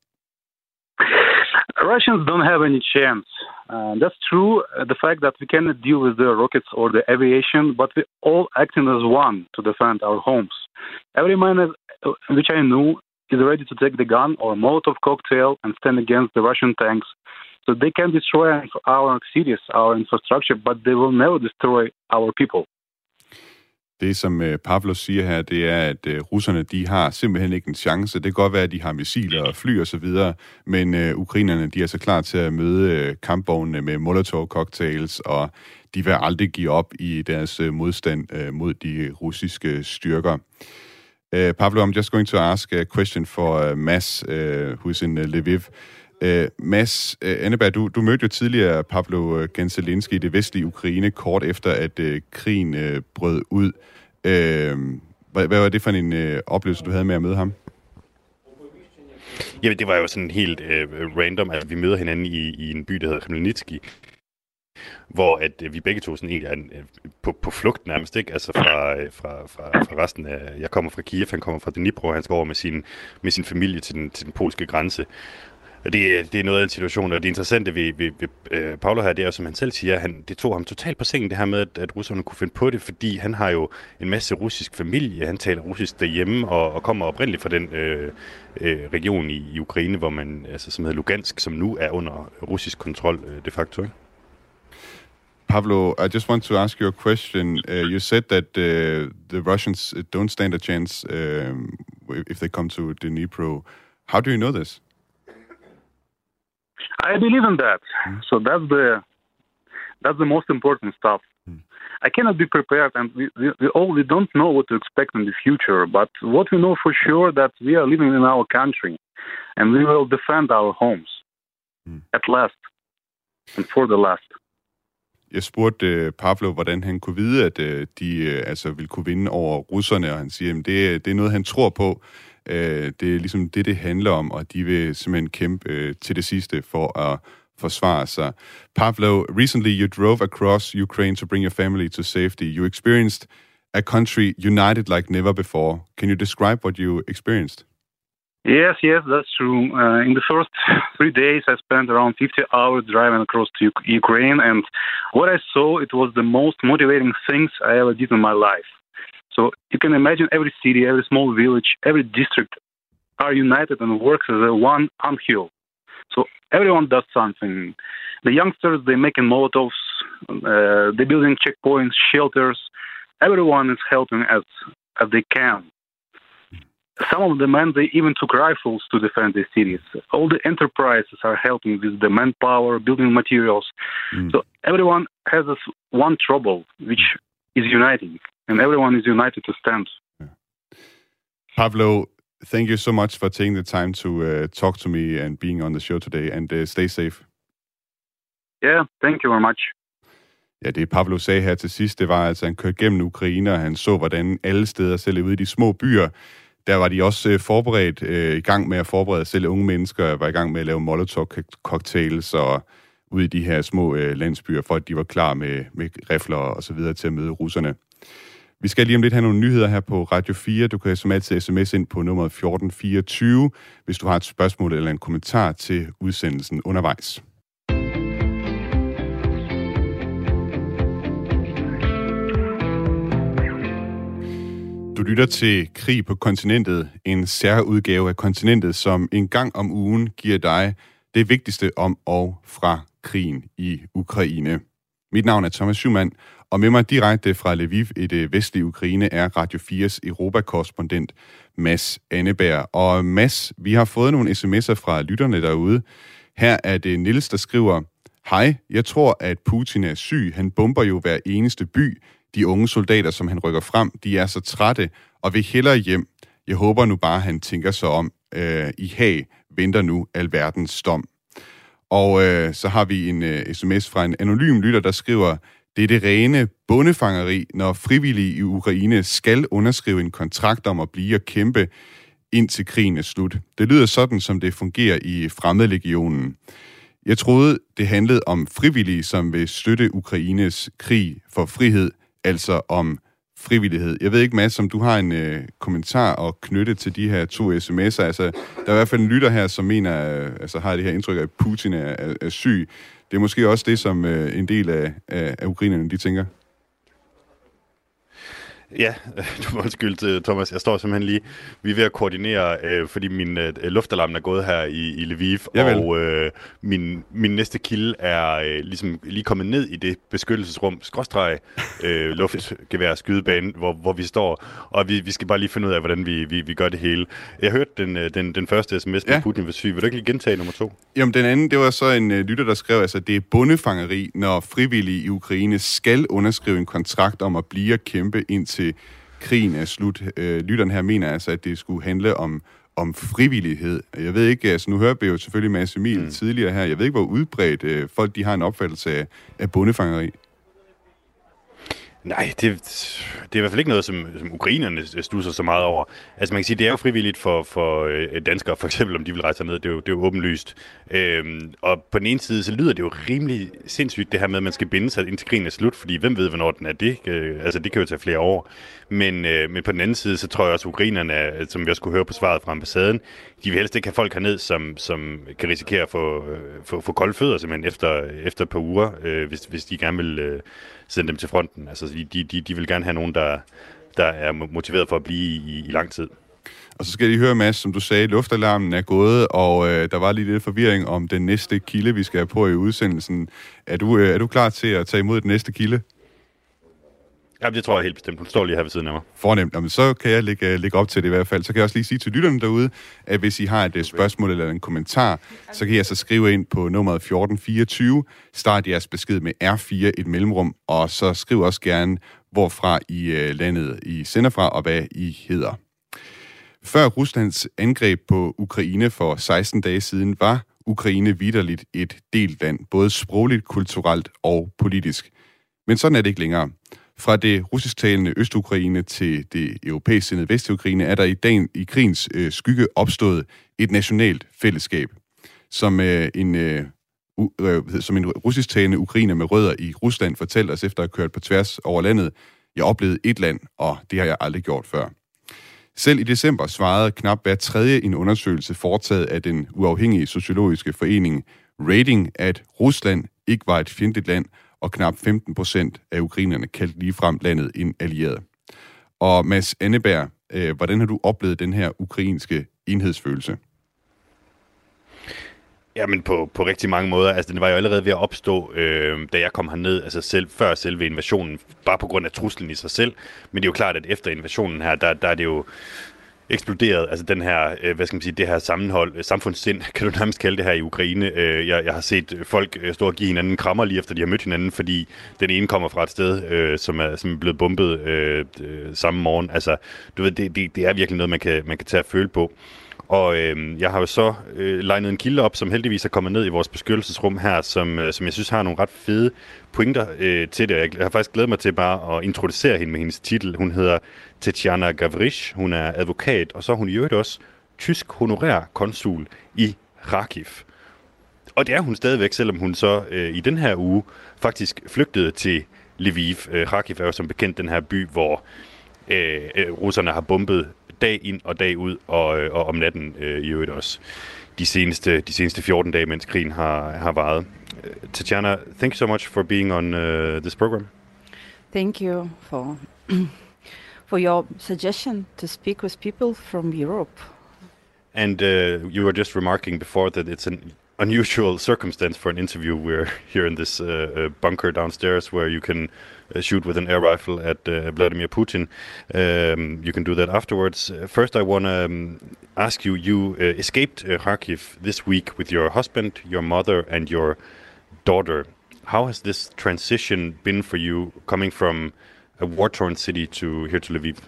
Russians don't have any chance. Uh, that's true. Uh, the fact that we cannot deal with the rockets or the aviation, but we all acting as one to defend our homes. Every man is, uh, which I know is ready to take the gun or Molotov cocktail and stand against the Russian tanks. So they can destroy our cities, our infrastructure, but they will never destroy our people. Det, som Pavlo siger her, det er, at russerne, de har simpelthen ikke en chance. Det kan godt være, at de har missiler og fly og så videre, men uh, ukrainerne, de er så klar til at møde kampvognene med Molotov-cocktails, og de vil aldrig give op i deres uh, modstand uh, mod de russiske styrker. Uh, Pavlo, I'm just going to ask a question for uh, Mads, uh, who's in uh, Lviv. Uh, Mads uh, Anneberg, du, du mødte jo tidligere Pavlo Genzelinski i det vestlige Ukraine, kort efter, at uh, krigen uh, brød ud. Uh, hvad, hvad var det for en uh, oplevelse, du havde med at møde ham? Jamen, det var jo sådan helt uh, random, at vi møder hinanden i, i en by, der hedder Khmelnytski, hvor at uh, vi begge to sådan egentlig er uh, på, på flugt nærmest, ikke? Altså fra, uh, fra, fra, fra resten af... Jeg kommer fra Kiev, han kommer fra Dnipro, han skal over med sin, med sin familie til den, til den polske grænse. Det, det er noget af en situation, og det interessante ved, ved, ved øh, Pavlo her, det er jo, som han selv siger, han, det tog ham totalt på sengen, det her med, at, at russerne kunne finde på det, fordi han har jo en masse russisk familie, han taler russisk derhjemme, og, og kommer oprindeligt fra den øh, øh, region i, i Ukraine, hvor man, altså, som hedder Lugansk, som nu er under russisk kontrol øh, de facto, ikke? Pavlo, I just want to ask you a question. Uh, you said that uh, the Russians don't stand a chance um, if they come to Dnipro. How do you know this? I believe in that. Mm. So that's the that's the most important stuff. Mm. I cannot be prepared, and we, we, we all we don't know what to expect in the future. But what we know for sure that we are living in our country, and we will defend our homes mm. at last, and for the last. Jeg spurgte uh, Pavlo, hvordan han kunne vide, at uh, de uh, altså ville kunne vinde over russerne, og han siger, at det, det er noget, han tror på. Uh, det er ligesom det, det handler om, og de vil simpelthen kæmpe uh, til det sidste for at forsvare sig. Pavlo, recently you drove across Ukraine to bring your family to safety. You experienced a country united like never before. Can you describe what you experienced? Yes, yes, that's true. Uh, in the first three days, I spent around fifty hours driving across to U- Ukraine, and what I saw, it was the most motivating things I ever did in my life. So you can imagine every city, every small village, every district are united and works as a one uphill. So everyone does something. The youngsters, they're making Molotovs, uh, they're building checkpoints, shelters. Everyone is helping as, as they can. Some of the men, they even took rifles to defend the cities. All the enterprises are helping with the manpower, building materials. Mm. So everyone has this one trouble, which is uniting, and everyone is united to stand. Yeah. Pavlo, thank you so much for taking the time to uh, talk to me and being on the show today, and uh, stay safe. Yeah, thank you very much. Ja, det Pavlo sagde her til sidst, det var altså, han kørte gennem Ukraine, og han så, hvordan alle steder, selv ude i de små byer, der var de også øh, forberedt, øh, i gang med at forberede, selv unge mennesker var i gang med at lave Molotov-cocktails og ude i de her små øh, landsbyer, for at de var klar med, med rifler og så videre til at møde russerne. Vi skal lige om lidt have nogle nyheder her på Radio fire. Du kan som altid sms ind på nummer fjorten fireogtyve, hvis du har et spørgsmål eller en kommentar til udsendelsen undervejs. Du lytter til Krig på kontinentet, en særudgave af kontinentet, som en gang om ugen giver dig det vigtigste om og fra krigen i Ukraine. Mit navn er Thomas Schumann, og med mig direkte fra Lviv i det vestlige Ukraine er Radio fires Europa-korrespondent Mads Anneberg. Og Mads, vi har fået nogle sms'er fra lytterne derude. Her er det Niels, der skriver: Hej, jeg tror, at Putin er syg. Han bomber jo hver eneste by. De unge soldater, som han rykker frem, de er så trætte og vil hellere hjem. Jeg håber nu bare, han tænker sig om. Øh, I Haag venter nu alverdens dom. Og øh, så har vi en øh, sms fra en anonym lytter, der skriver: Det er det rene bondefangeri, når frivillige i Ukraine skal underskrive en kontrakt om at blive og kæmpe indtil krigen er slut. Det lyder sådan, som det fungerer i Fremmedlegionen. Jeg troede, det handlede om frivillige, som vil støtte Ukraines krig for frihed, altså om frivillighed. Jeg ved ikke, Mads, om du har en øh, kommentar at knytte til de her to sms'er. Altså, der er i hvert fald en lytter her, som mener, øh, altså har det her indtryk af, at Putin er, er, er syg. Det er måske også det, som øh, en del af, af, af ukrainerne, de tænker. Ja, du må undskylde, Thomas. Jeg står simpelthen lige... Vi er ved at koordinere, øh, fordi min øh, luftalarm er gået her i, i Lviv, Javel. og øh, min, min næste kilde er øh, ligesom lige kommet ned i det beskyttelsesrum, skråstreg, øh, luftgevær, skydebane, hvor, hvor vi står, og vi, vi skal bare lige finde ud af, hvordan vi, vi, vi gør det hele. Jeg hørte den, den, den første sms med ja. Putin var syg. Vil du ikke lige gentage nummer to? Jamen, den anden, det var så en uh, lytter, der skrev, altså, det er bondefangeri, når frivillige i Ukraine skal underskrive en kontrakt om at blive og kæmpe indtil til krigen er slut. Øh, lytteren her mener altså, at det skulle handle om, om frivillighed. Jeg ved ikke, altså nu hører vi jo selvfølgelig Mads Emil mm. tidligere her, jeg ved ikke, hvor udbredt øh, folk de har en opfattelse af, af bondefangeri. Nej, det, det er i hvert fald ikke noget, som, som ukrainerne stusser så meget over. Altså man kan sige, det er jo frivilligt for, for øh, danskere, for eksempel om de vil rejse ned, det er jo, det er jo åbenlyst. Øhm, og på den ene side, så lyder det jo rimelig sindssygt, det her med, at man skal binde sig indtil krigen er slut, fordi hvem ved, hvornår den er det? Øh, altså det kan jo tage flere år. Men, øh, men på den anden side, så tror jeg også, at ukrainerne, som vi også kunne høre på svaret fra ambassaden, de vil helst ikke have folk herned, som, som kan risikere at få, få, få kolde fødder simpelthen efter, efter et par uger, øh, hvis, hvis de gerne vil øh, sende dem til fronten. Altså de, de, de vil gerne have nogen, der, der er motiveret for at blive i, i lang tid. Og så skal jeg lige høre, Mads, som du sagde, luftalarmen er gået, og øh, der var lige lidt forvirring om den næste kilde, vi skal have på i udsendelsen. Er du, øh, er du klar til at tage imod den næste kilde? Ja, det tror jeg helt bestemt. Hun står lige her ved siden af mig. Fornemt. Jamen, så kan jeg lægge, lægge op til det i hvert fald. Så kan jeg også lige sige til lytterne derude, at hvis I har et spørgsmål eller en kommentar, så kan I altså skrive ind på nummeret fjorten fireogtyve. Start jeres besked med R fire, et mellemrum, og så skriv også gerne, hvorfra I øh, landet I sender fra, og hvad I hedder. Før Ruslands angreb på Ukraine for seksten dage siden, var Ukraine vitterligt et delt land, både sprogligt, kulturelt og politisk. Men sådan er det ikke længere. Fra det russisktalende Øst-Ukraine til det europæisk sindede Vest-Ukraine er der i dagen i krigens øh, skygge opstået et nationalt fællesskab, som, øh, en, øh, uh, som en russisktalende ukrainer med rødder i Rusland fortalte os efter at have kørt på tværs over landet: Jeg oplevede et land, og det har jeg aldrig gjort før. Selv i december svarede knap hver tredje en undersøgelse foretaget af den uafhængige sociologiske forening Rating, at Rusland ikke var et fjendtligt land, og knap femten procent af ukrainerne kaldte ligefrem landet en allieret. Og Mads Anneberg, øh, hvordan har du oplevet den her ukrainske enhedsfølelse? Jamen på, på rigtig mange måder. Altså den var jo allerede ved at opstå, øh, da jeg kom herned, altså selv før selve invasionen, bare på grund af truslen i sig selv. Men det er jo klart, at efter invasionen her, der, der er det jo eksploderet, altså den her, øh, hvad skal man sige, det her sammenhold, øh, samfundssind, kan du nærmest kalde det her i Ukraine. Øh, jeg, jeg har set folk øh, stå og give hinanden krammer lige efter de har mødt hinanden, fordi den ene kommer fra et sted, øh, som, er, som er blevet bombet øh, øh, samme morgen. Altså, du ved, det, det, det er virkelig noget, man kan, man kan tage at føle på. Og øh, jeg har jo så øh, legnet en kilde op, som heldigvis er kommet ned i vores beskyttelsesrum her, som, øh, som jeg synes har nogle ret fede pointer øh, til det. Jeg har faktisk glædet mig til bare at introducere hende med hendes titel. Hun hedder Tetjana Gavrish, hun er advokat, og så er hun i øvrigt også tysk honorær konsul i Kharkiv. Og det er hun stadigvæk, selvom hun så øh, i den her uge faktisk flygtede til Lviv. Kharkiv er jo som bekendt den her by, hvor øh, russerne har bombet dag ind og dag ud, og, og om natten øh, i øvrigt også de seneste, de seneste fjorten dage, mens krigen har, har varet. Tatiana, thank you so much for being on uh, this program. Thank you for for your suggestion to speak with people from Europe. And uh, you were just remarking before that it's an unusual circumstance for an interview. We're here in this uh, uh, bunker downstairs where you can uh, shoot with an air rifle at uh, Vladimir Putin. Um, you can do that afterwards. Uh, first, I want to um, ask you, you uh, escaped uh, Kharkiv this week with your husband, your mother, and your daughter. How has this transition been for you, coming from a war-torn city to here to Lviv?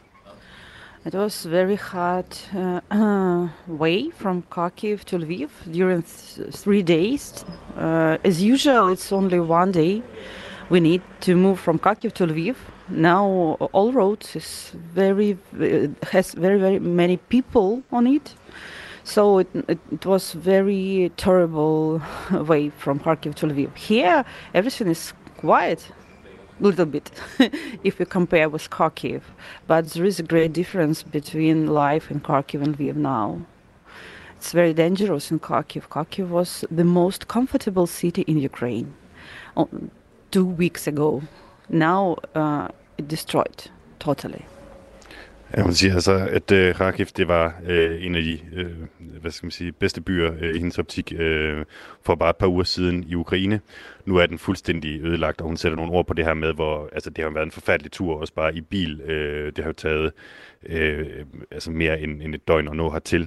It was very hard uh, uh, way from Kharkiv to Lviv during th- three days. Uh, as usual, it's only one day. We need to move from Kharkiv to Lviv. Now all roads is very uh, has very very many people on it. So it, it, it was very terrible way from Kharkiv to Lviv. Here, everything is quiet, a little bit, if you compare with Kharkiv. But there is a great difference between life in Kharkiv and Lviv now. It's very dangerous in Kharkiv. Kharkiv was the most comfortable city in Ukraine oh, two weeks ago. Now uh, it destroyed totally. Ja, hun siger altså, at uh, Kharkiv, det var uh, en af de uh, hvad skal man sige, bedste byer uh, i hendes optik uh, for bare et par uger siden i Ukraine. Nu er den fuldstændig ødelagt, og hun sætter nogle ord på det her med, hvor altså, det har været en forfærdelig tur, også bare i bil. Uh, det har jo taget uh, altså mere end, end et døgn at nå hertil.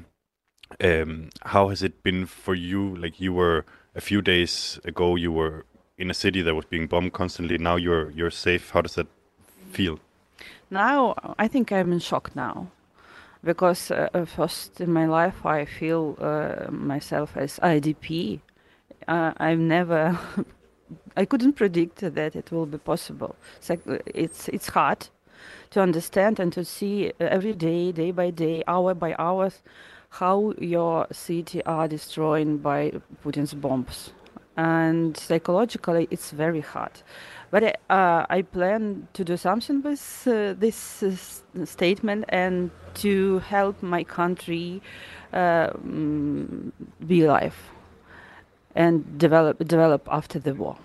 Um, how has it been for you? Like you were a few days ago, you were in a city that was being bombed constantly. Now you're you're safe. How does that feel? Now, I think I'm in shock now, because uh, first in my life I feel uh, myself as I D P. Uh, I've never, I couldn't predict that it will be possible. So it's it's hard to understand and to see every day, day by day, hour by hour, how your city are destroyed by Putin's bombs. And psychologically, it's very hard. But uh, I plan to do something with uh, this uh, statement and to help my country uh, be alive and develop develop after the war.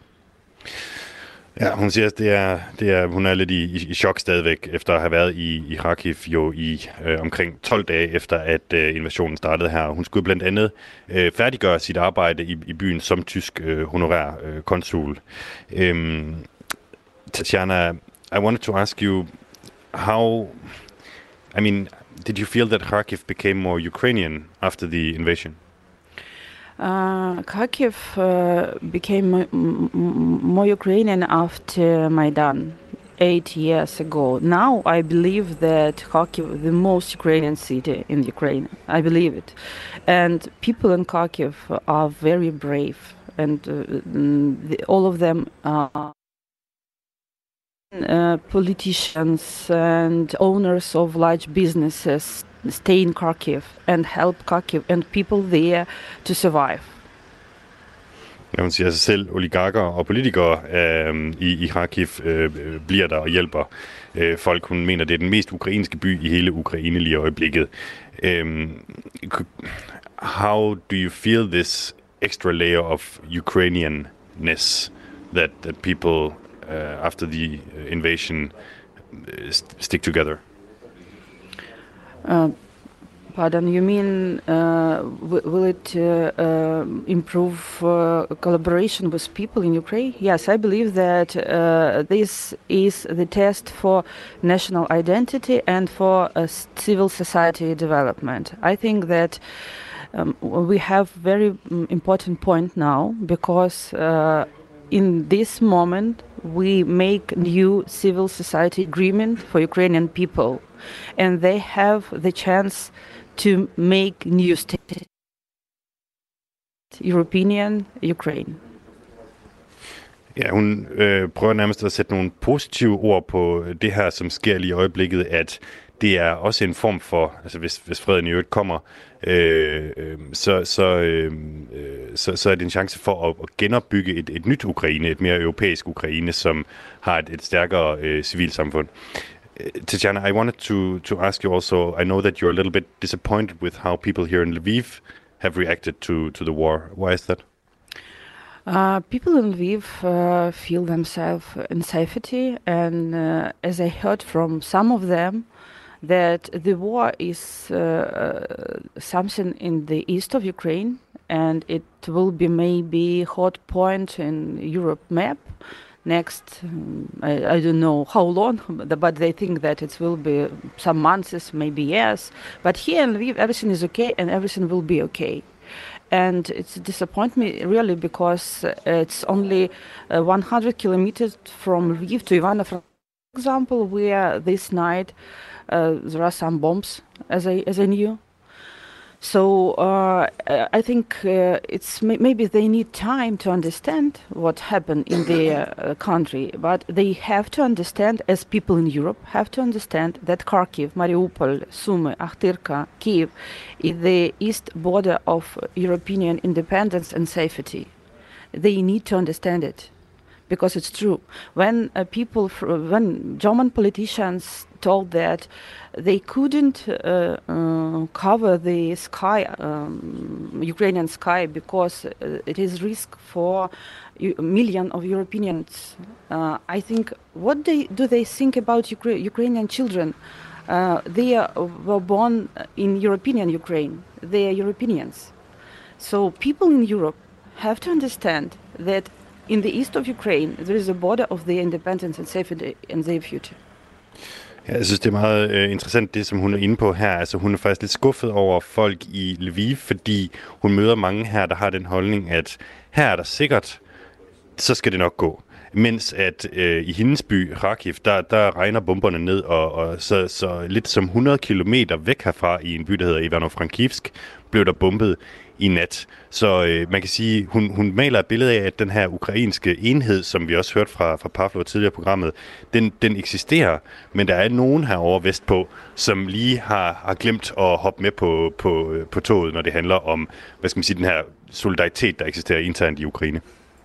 Ja, hun siger, at det er, det er, hun er lidt i, i, i chok stadigvæk, efter at have været i, i Kharkiv jo i øh, omkring tolv dage efter, at øh, invasionen startede her. Hun skulle blandt andet øh, færdiggøre sit arbejde i, i byen som tysk øh, honorær øh, konsul. Øhm, Tatiana, I wanted to ask you, how, I mean, did you feel that Kharkiv became more Ukrainian after the invasion? Uh, Kharkiv uh, became m- m- more Ukrainian after Maidan, eight years ago. Now I believe that Kharkiv is the most Ukrainian city in Ukraine. I believe it. And people in Kharkiv are very brave, and uh, the, all of them are uh, politicians and owners of large businesses stay in Kharkiv and help Kharkiv and people there to survive. Ja, hun siger sig selv, oligarker og politikere øh, i, i Kharkiv øh, bliver der og hjælper øh, folk. Hun mener, det er den mest ukrainske by i hele Ukraine lige i øjeblikket. Øh, how do you feel this extra layer of Ukrainianness that, that people uh, after the invasion uh, stick together? Uh, pardon, you mean uh, w- will it uh, uh, improve uh, collaboration with people in Ukraine? Yes, I believe that uh, this is the test for national identity and for uh, civil society development. I think that um, we have very important point now, because uh, in this moment we make new civil society agreement for Ukrainian people, and they have the chance to make new state, European Ukraine. Ja, hun øh, prøver nærmest at sætte nogle positive ord på det her, som sker lige i øjeblikket, at det er også en form for, altså hvis, hvis freden i øvrigt kommer, øh, øh, så, så, øh, så, så er det en chance for at, at genopbygge et, et nyt Ukraine, et mere europæisk Ukraine, som har et, et stærkere øh, civilsamfund. Tatiana, I wanted to, to ask you also, I know that you're a little bit disappointed with how people here in Lviv have reacted to, to the war. Why is that? Uh, people in Lviv uh, feel themselves in safety, and uh, as I heard from some of them, that the war is uh, something in the east of Ukraine, and it will be maybe hot point in Europe map. Next, um, I, I don't know how long, but they think that it will be some months, maybe years. But here in Lviv, everything is okay, and everything will be okay. And it disappoints me really because it's only uh, one hundred kilometers from Lviv to Ivano-Frankivsk, for example, where this night uh, there are some bombs, as I as I knew. So uh, I think uh, it's maybe they need time to understand what happened in their uh, country, but they have to understand, as people in Europe have to understand, that Kharkiv, Mariupol, Sumy, Akhtirka, Kiev is the east border of European independence and safety. They need to understand it, because it's true. When uh, people, when German politicians told that they couldn't uh, uh, cover the sky, um, Ukrainian sky, because uh, it is risk for a million of Europeans. Uh, I think, what they, do they think about Ukra- Ukrainian children? Uh, they are, were born in European Ukraine. They are Europeans. So people in Europe have to understand that in the east of Ukraine, there is a border of their independence and safety and their future. Ja, jeg synes, det er meget øh, interessant, det som hun er inde på her. Altså, hun er faktisk lidt skuffet over folk i Lviv, fordi hun møder mange her, der har den holdning, at her er der sikkert, så skal det nok gå. Mens at øh, i hendes by, Kharkiv, der, der regner bomberne ned, og, og så, så lidt som hundrede kilometer væk herfra i en by, der hedder Ivano-Frankivsk, blev der bombet i nat. Så øh, man kan sige, hun, hun maler et billede af, at den her ukrainske enhed, som vi også hørte fra, fra Pavlo tidligere i programmet, den, den eksisterer, men der er nogen herovre vestpå, som lige har, har glemt at hoppe med på, på, på toget, når det handler om, hvad skal man sige, den her solidaritet, der eksisterer internt i Ukraine.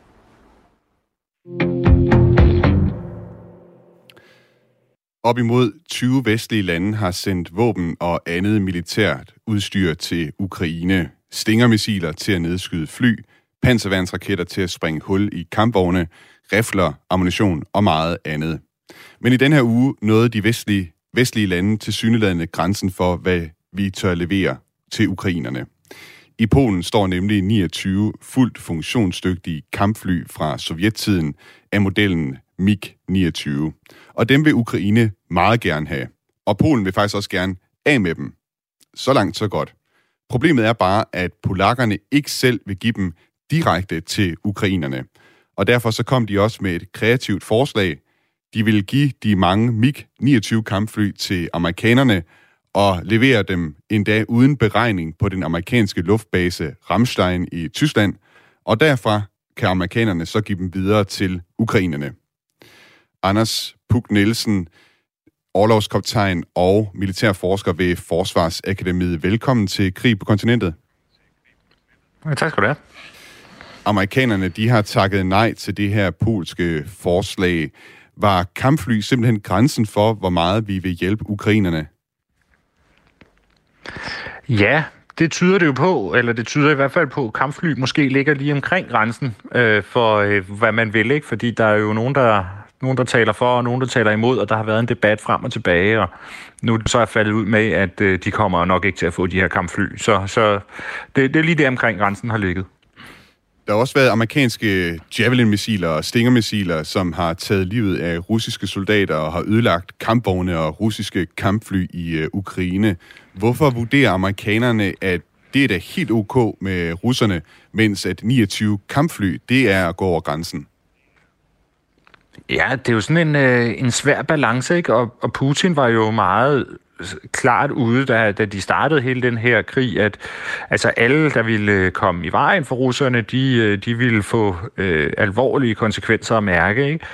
Op imod tyve vestlige lande har sendt våben og andet militært udstyr til Ukraine. Stinger-missiler til at nedskyde fly, panserværnsraketter til at springe hul i kampvogne, rifler, ammunition og meget andet. Men i den her uge nåede de vestlige, vestlige lande tilsyneladende grænsen for, hvad vi tør levere til ukrainerne. I Polen står nemlig niogtyve fuldt funktionsdygtige kampfly fra sovjettiden af modellen mig niogtyve. Og dem vil Ukraine meget gerne have. Og Polen vil faktisk også gerne af med dem. Så langt, så godt. Problemet er bare, at polakkerne ikke selv vil give dem direkte til ukrainerne. Og derfor så kom de også med et kreativt forslag. De vil give de mange mig niogtyve kampfly til amerikanerne og levere dem endda uden beregning på den amerikanske luftbase Ramstein i Tyskland. Og derfra kan amerikanerne så give dem videre til ukrainerne. Anders Puk Nielsen, orlogskaptajn og militærforsker ved Forsvarsakademiet. Velkommen til Krig på kontinentet. Ja, tak skal du have. Amerikanerne, de har takket nej til det her polske forslag. Var kampfly simpelthen grænsen for, hvor meget vi vil hjælpe ukrainerne? Ja, det tyder det jo på, eller det tyder i hvert fald på, at kampfly måske ligger lige omkring grænsen øh, for, øh, hvad man vil, ikke? Fordi der er jo nogen, der... Nogen, der taler for, og nogen, der taler imod, og der har været en debat frem og tilbage, og nu er det så er faldet ud med, at øh, de kommer nok ikke til at få de her kampfly. Så, så det, det er lige der omkring grænsen har ligget. Der har også været amerikanske Javelin-missiler og Stinger-missiler, som har taget livet af russiske soldater og har ødelagt kampvogne og russiske kampfly i øh, Ukraine. Hvorfor vurderer amerikanerne, at det er da helt ok med russerne, mens at niogtyve kampfly, det er at gå over grænsen? Ja, det er jo sådan en, øh, en svær balance, ikke? Og, og Putin var jo meget klart ude, da, da de startede hele den her krig, at altså alle, der ville komme i vejen for russerne, de, de ville få øh, alvorlige konsekvenser at mærke, ikke?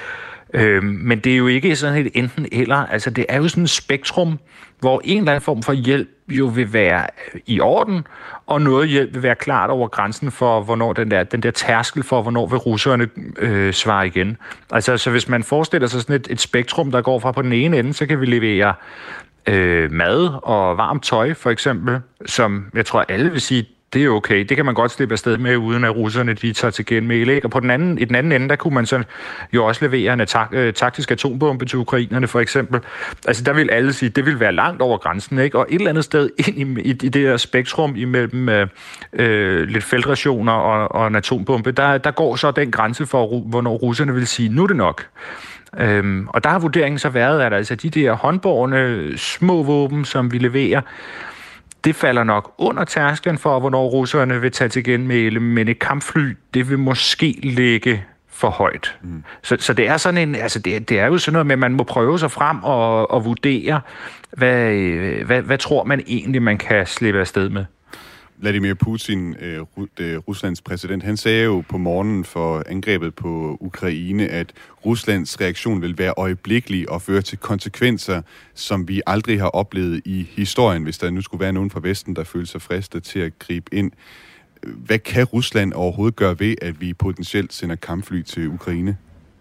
Øh, men det er jo ikke sådan et enten eller. Altså, det er jo sådan et spektrum, hvor en eller anden form for hjælp jo vil være i orden, og noget hjælp vil være klart over grænsen for, hvornår den der, den der tærskel for, hvornår vil russerne øh, svare igen. Altså, så hvis man forestiller sig sådan et, et spektrum, der går fra på den ene ende, så kan vi levere øh, mad og varmt tøj, for eksempel, som jeg tror, alle vil sige, det er okay. Det kan man godt slippe afsted med, uden at russerne de tager til genmæle, ikke? Og på den anden, i den anden ende, der kunne man så jo også levere en attack, øh, taktisk atombombe til ukrainerne, for eksempel. Altså, der vil alle sige, det vil være langt over grænsen, ikke? Og et eller andet sted ind i, i, i det der spektrum imellem øh, øh, lidt feltrationer og, og en atombombe, der, der går så den grænse for, hvornår russerne vil sige, nu er det nok. Øhm, og der har vurderingen så været, at altså de der håndbårne små våben, som vi leverer, det falder nok under tærsklen for, hvornår russerne vil tage til genmæle, men et kampfly, det vil måske ligge for højt. Mm. Så, så det er sådan en, altså det, det er jo sådan noget med, at man må prøve sig frem og, og vurdere, hvad, hvad, hvad tror man egentlig, man kan slippe afsted med. Vladimir Putin, øh, Ruslands præsident, han sagde jo på morgenen for angrebet på Ukraine, at Ruslands reaktion vil være øjeblikkelig og føre til konsekvenser, som vi aldrig har oplevet i historien, hvis der nu skulle være nogen fra Vesten, der føler sig fristet til at gribe ind. Hvad kan Rusland overhovedet gøre ved, at vi potentielt sender kampfly til Ukraine?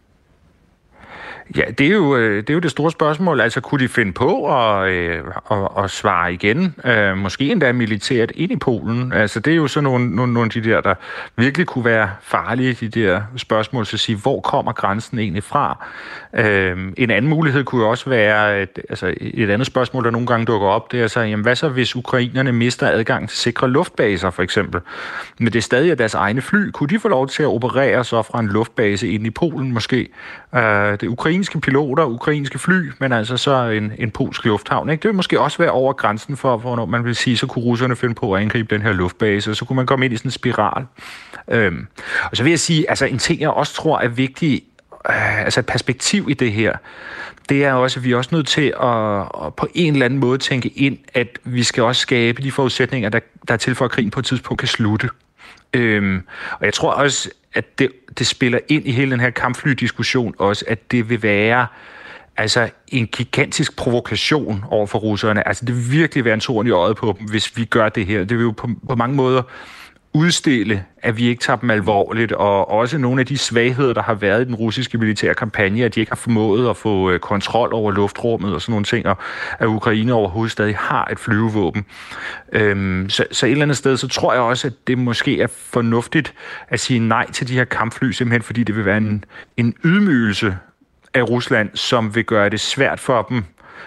Ja, det er, jo, det er jo det store spørgsmål. Altså, kunne de finde på at, øh, at, at svare igen? Øh, måske endda militært ind i Polen. Altså, det er jo sådan nogle, nogle, nogle af de der, der virkelig kunne være farlige, de der spørgsmål, så at sige, hvor kommer grænsen egentlig fra? Øh, en anden mulighed kunne jo også være, et, altså et andet spørgsmål, der nogle gange dukker op, det er så, jamen, hvad så hvis ukrainerne mister adgang til sikre luftbaser, for eksempel? Men det er stadig deres egne fly. Kunne de få lov til at operere så fra en luftbase ind i Polen, måske? Øh, det ukrainske piloter, ukrainske fly, men altså så en, en polsk lufthavn. Ikke? Det vil måske også være over grænsen for, hvornår man vil sige, så kunne russerne finde på at angribe den her luftbase, og så kunne man komme ind i sådan en spiral. Øhm, og så vil jeg sige, altså en ting, jeg også tror er vigtig, øh, altså et perspektiv i det her, det er også, at vi er også nødt til at, at på en eller anden måde tænke ind, at vi skal også skabe de forudsætninger, der, der er til for, at krigen på et tidspunkt kan slutte. Øhm, og jeg tror også, at det, det spiller ind i hele den her kampflydiskussion også, at det vil være altså en gigantisk provokation over for russerne. Altså det vil virkelig være en torn i øjet på dem, hvis vi gør det her. Det vil jo på, på mange måder udstille, at vi ikke tager dem alvorligt, og også nogle af de svagheder, der har været i den russiske militære kampagne, at de ikke har formået at få kontrol over luftrummet og sådan nogle ting, og at Ukraine overhovedet stadig har et flyvevåben. Øhm, så, så et eller andet sted, så tror jeg også, at det måske er fornuftigt at sige nej til de her kampfly, simpelthen fordi det vil være en, en ydmygelse af Rusland, som vil gøre det svært for dem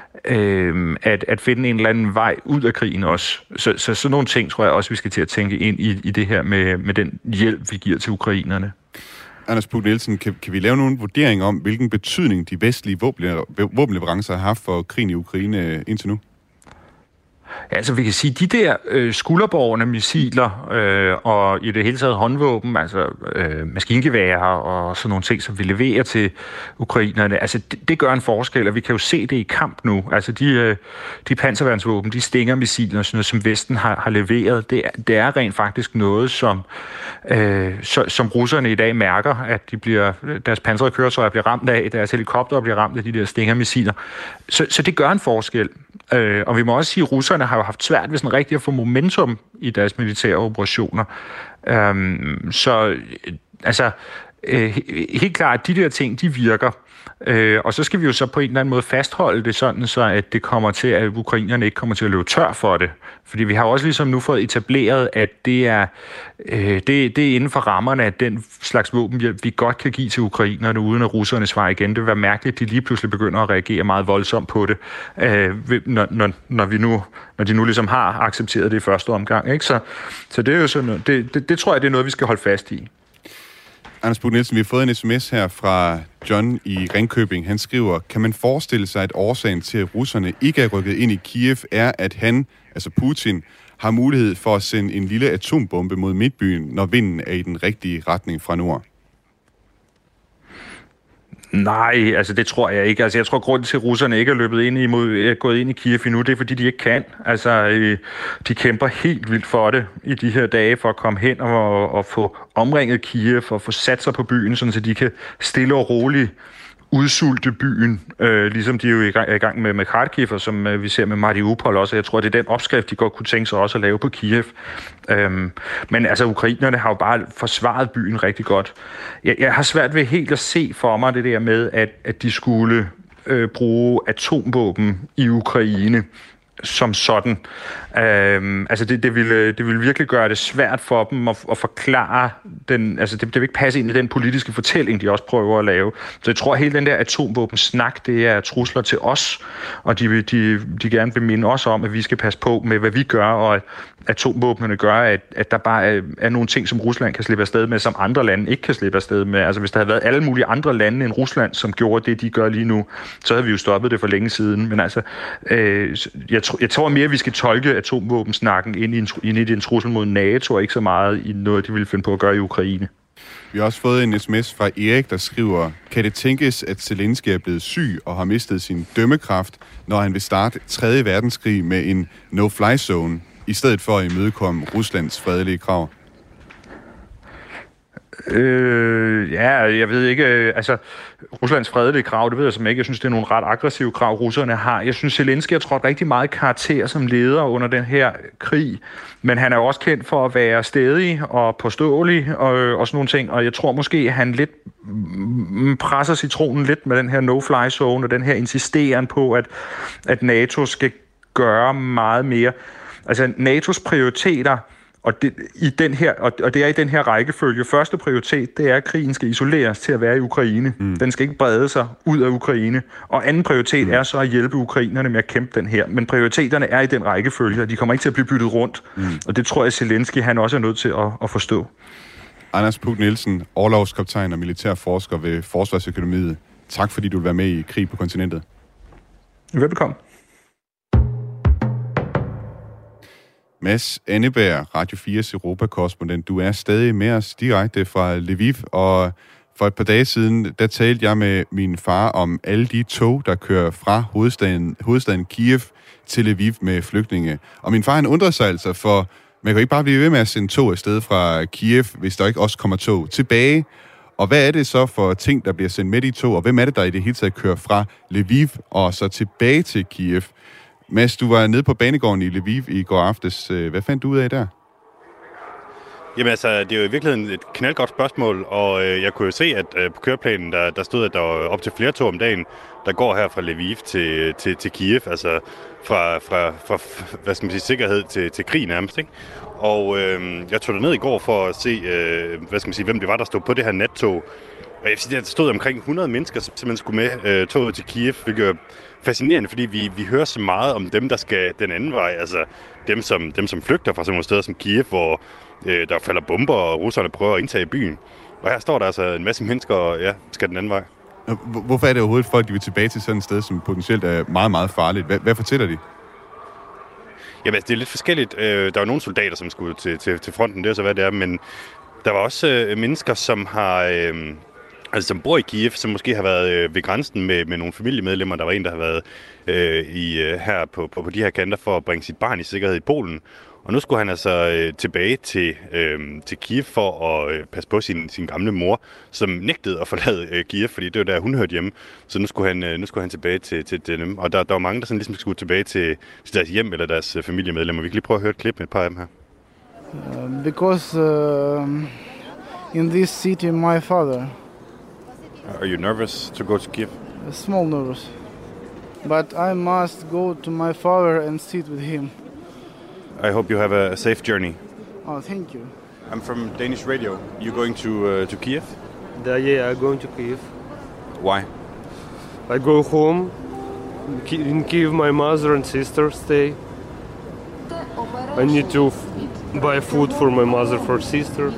Øh, at, at finde en eller anden vej ud af krigen også. Så, så sådan nogle ting tror jeg også, vi skal til at tænke ind i, i det her med, med den hjælp, vi giver til ukrainerne. Anders Puk Nielsen, kan, kan vi lave nogle vurderinger om, hvilken betydning de vestlige våbenleverancer har haft for krigen i Ukraine indtil nu? Ja, altså vi kan sige, de der øh, skulderbårne missiler øh, og i det hele taget håndvåben, altså øh, maskingeværer og sådan nogle ting, som vi leverer til ukrainerne, altså det, det gør en forskel, og vi kan jo se det i kamp nu. Altså de, øh, de panserværnsvåben, de Stinger-missiler, sådan noget, som Vesten har, har leveret, det er, det er rent faktisk noget, som, øh, så, som russerne i dag mærker, at de bliver, deres pansrede køretøjer bliver ramt af, deres helikoptere bliver ramt af de der Stinger-missiler. Så, så det gør en forskel. Øh, og vi må også sige, at russerne har jo haft svært ved sådan rigtig at få momentum i deres militære operationer. Øhm, så altså, øh, helt klart, at de der ting, de virker. Øh, og så skal vi jo så på en eller anden måde fastholde det sådan, så at det kommer til, at ukrainerne ikke kommer til at løbe tør for det. Fordi vi har også ligesom nu fået etableret, at det er, øh, det, det er inden for rammerne af den slags våbenhjælp, vi godt kan give til ukrainerne, uden at russerne svarer igen. Det vil være mærkeligt, at de lige pludselig begynder at reagere meget voldsomt på det, øh, når, når, når, vi nu, når de nu ligesom har accepteret det i første omgang. Ikke? Så, så det er jo sådan, det, det, det tror jeg, det er noget, vi skal holde fast i. Anders Puk Nielsen, vi har fået en sms her fra John i Ringkøbing. Han skriver, kan man forestille sig, at årsagen til, at russerne ikke er rykket ind i Kiev, er, at han, altså Putin, har mulighed for at sende en lille atombombe mod midtbyen, når vinden er i den rigtige retning fra nord? Nej, altså det tror jeg ikke. Altså jeg tror, grunden til, at russerne ikke er løbet ind i, mod, er gået ind i Kiev endnu, det er, fordi de ikke kan. Altså de kæmper helt vildt for det i de her dage, for at komme hen og, og få omringet Kiev og få sat sig på byen, sådan så de kan stille og roligt udsulte byen, øh, ligesom de er jo i gang, er i gang med, med Kharkiv, og som øh, vi ser med Mariupol også. Jeg tror, det er den opskrift, de godt kunne tænke sig også at lave på Kiev. Øhm, men altså, ukrainerne har jo bare forsvaret byen rigtig godt. Jeg, jeg har svært ved helt at se for mig det der med, at, at de skulle øh, bruge atomvåben i Ukraine som sådan. Øhm, altså det, det, ville, det ville virkelig gøre det svært for dem at, at forklare den, altså det, det vil ikke passe ind i den politiske fortælling, de også prøver at lave. Så jeg tror, at hele den der atomvåbensnak, det er trusler til os, og de, de, de gerne vil minde os om, at vi skal passe på med, hvad vi gør, og at atomvåbnene gør, at, at der bare er, er nogle ting, som Rusland kan slippe afsted med, som andre lande ikke kan slippe afsted med. Altså hvis der havde været alle mulige andre lande end Rusland, som gjorde det, de gør lige nu, så havde vi jo stoppet det for længe siden. Men altså, øh, jeg, tr- jeg tror mere, at vi skal tolke atomvåbensnakken ind i, en, ind i en trussel mod NATO, og ikke så meget i noget, de ville finde på at gøre i Ukraine. Vi har også fået en sms fra Erik, der skriver, kan det tænkes, at Zelensky er blevet syg og har mistet sin dømmekraft, når han vil starte tredje verdenskrig med en no-fly zone, i stedet for at imødekomme Ruslands fredelige krav? Øh, ja, jeg ved ikke, øh, altså Ruslands fredelige krav, det ved jeg som ikke. Jeg synes, det er nogle ret aggressive krav, russerne har. Jeg synes, Zelensky har trådt rigtig meget karakter som leder under den her krig, men han er jo også kendt for at være stædig og påståelig og, og sådan nogle ting, og jeg tror måske, at han lidt presser citronen lidt med den her no-fly zone og den her insisteren på, at, at NATO skal gøre meget mere. Altså N A T O's prioriteter, og det, i den her, og det er i den her rækkefølge. Første prioritet, det er, at krigen skal isoleres til at være i Ukraine. Mm. Den skal ikke brede sig ud af Ukraine. Og anden prioritet mm. er så at hjælpe ukrainerne med at kæmpe den her. Men prioriteterne er i den rækkefølge, og de kommer ikke til at blive byttet rundt. Mm. Og det tror jeg, Zelensky han også er nødt til at, at forstå. Anders Puk Nielsen, orlogskaptajn og militærforsker ved Forsvarsøkonomiet. Tak fordi du vil være med i Krig på kontinentet. Velbekomme. Mads Anneberg, Radio fires Europa-korrespondent. Du er stadig med os direkte fra Lviv, og for et par dage siden, der talte jeg med min far om alle de tog, der kører fra hovedstaden, hovedstaden Kiev til Lviv med flygtninge. Og min far, han undrede sig altså, for man kan ikke bare blive ved med at sende tog afsted fra Kiev, hvis der ikke også kommer tog tilbage. Og hvad er det så for ting, der bliver sendt med i tog, og hvem er det, der i det hele taget kører fra Lviv og så tilbage til Kiev? Mads, du var nede på banegården i Lviv i går aftes. Hvad fandt du ud af der? Jamen altså, det er jo i virkeligheden et knaldgodt spørgsmål, og øh, jeg kunne jo se, at øh, på køreplanen, der, der stod, at der var op til flere tog om dagen, der går her fra Lviv til, til, til Kiev, altså fra, fra, fra hvad skal man sige, sikkerhed til, til krig nærmest, ikke? Og øh, jeg tog ned i går for at se, øh, hvad skal man sige, hvem det var, der stod på det her nattog. Og jeg vil sige, der stod omkring hundrede mennesker, som simpelthen skulle med øh, toget til Kiev, hvilket er fascinerende, fordi vi, vi hører så meget om dem, der skal den anden vej, altså dem, som, dem, som flygter fra sådan nogle steder som Kiev, hvor øh, der falder bomber, og russerne prøver at indtage byen. Og her står der altså en masse mennesker, og ja, skal den anden vej. Hvorfor er det overhovedet folk, de vil tilbage til sådan et sted, som potentielt er meget, meget farligt? Hvad, hvad fortæller de? Jamen, altså, det er lidt forskelligt. Der var nogle soldater, som skulle til, til, til fronten, det er så hvad det er, men der var også øh, mennesker, som har... Øh, Altså, som bor i Kiev, som måske har været øh, ved grænsen med, med nogle familiemedlemmer. Der var en, der har været øh, i, øh, her på, på, på de her kanter for at bringe sit barn i sikkerhed i Polen. Og nu skulle han altså øh, tilbage til, øh, til Kiev for at øh, passe på sin, sin gamle mor, som nægtede at forlade øh, Kiev, fordi det var der, hun hørte hjemme. Så nu skulle han, øh, nu skulle han tilbage til, til, til dem. Og der, der var mange, der sådan ligesom skulle tilbage til, til deres hjem eller deres øh, familiemedlemmer. Vi kan lige prøve at høre et klip med et par af dem her. Uh, because uh, in this city, my father... Are you nervous to go to Kiev? A small nervous. But I must go to my father and sit with him. I hope you have a safe journey. Oh, thank you. I'm from Danish radio. You going to uh, to Kiev? Uh, yeah, I'm going to Kiev. Why? I go home. In Kiev, my mother and sister stay. I need to f- buy food for my mother, for sister.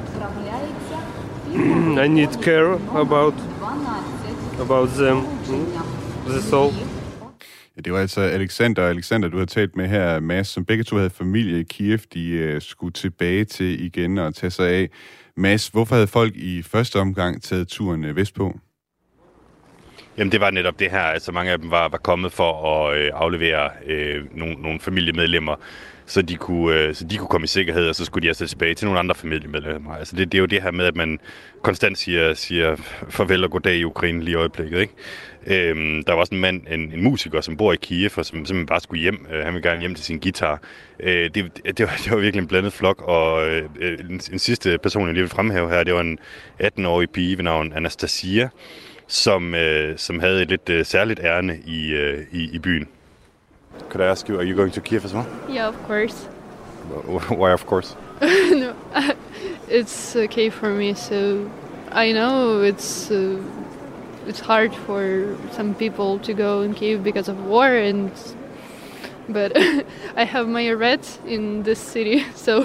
I need care about about them. That's all. Ja, det var altså Alexander og Alexander, du har talt med her, Mads, som begge to havde familie i Kiev, de uh, skulle tilbage til igen og tage sig af. Mads, hvorfor havde folk i første omgang taget turen uh, vestpå? Jamen, det var netop det her. Altså, mange af dem var, var kommet for at øh, aflevere øh, nogle, nogle familiemedlemmer, så de kunne, øh, så de kunne komme i sikkerhed, og så skulle de altså tilbage til nogle andre familiemedlemmer. Altså det, det er jo det her med, at man konstant siger, siger farvel og goddag i Ukraine lige i øjeblikket, ikke? Øhm, der var også en mand, en, en musiker, som bor i Kiev, og som simpelthen bare skulle hjem. Øh, han ville gerne hjem til sin guitar. Øh, det, det, var, det var virkelig en blandet flok, og øh, en, en sidste person, jeg lige vil fremhæve her, det var en atten-årig pige ved navn Anastasia, som, øh, som havde et lidt øh, særligt ærne i, øh, i, i byen. Could I ask you, are you going to Kiev as well? Yeah, of course. Why of course? No, it's okay for me. So I know it's uh, it's hard for some people to go in Kiev because of war, and but I have my rat in this city, so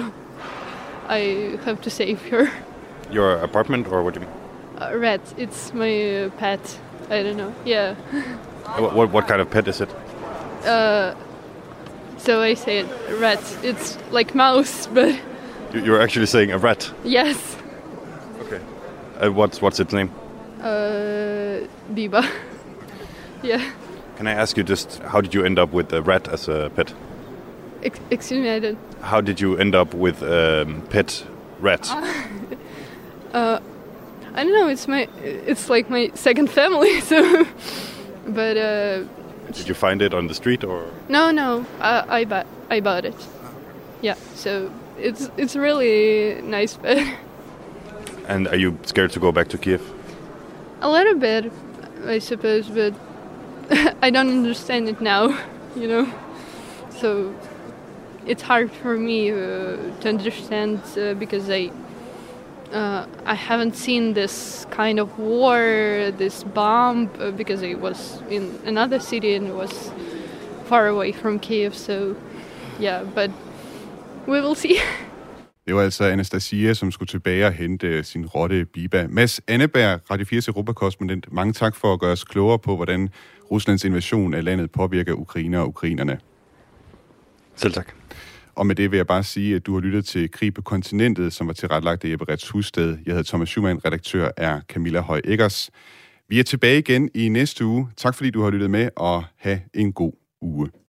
I have to save her. Your apartment, or what do you mean? Uh, rat. It's my uh, pet. I don't know. Yeah. What, what what kind of pet is it? Uh, so I say it, rat. It's like mouse, but You're actually saying a rat. yes. Okay. Uh, what's what's its name? Uh, Biba. Yeah. Can I ask you just how did you end up with a rat as a pet? Ex- excuse me, I didn't. How did you end up with um, pet rat? Uh, I don't know. It's my. It's like my second family. So, but uh, Did you find it on the street or? no, no. I I bought I bought it. Yeah. So it's it's really nice pet. And are you scared to go back to Kiev? A little bit, I suppose, but I don't understand it now, you know. So it's hard for me uh, to understand uh, because I uh, I haven't seen this kind of war, this bomb, uh, because I was in another city and it was far away from Kiev. So yeah, but we will see. Det var altså Anastasia, som skulle tilbage og hente sin rotte Biba. Mads Anneberg, Radio fires Europakorrespondent. Mange tak for at gøre os klogere på, hvordan Ruslands invasion af landet påvirker Ukraine og ukrainerne. Selv tak. Og med det vil jeg bare sige, at du har lyttet til Krig på kontinentet, som var tilrettelagt af Jeppe Retz Husted. Jeg hedder Thomas Schumann, redaktør er Camilla Høj Eggers. Vi er tilbage igen i næste uge. Tak fordi du har lyttet med, og have en god uge.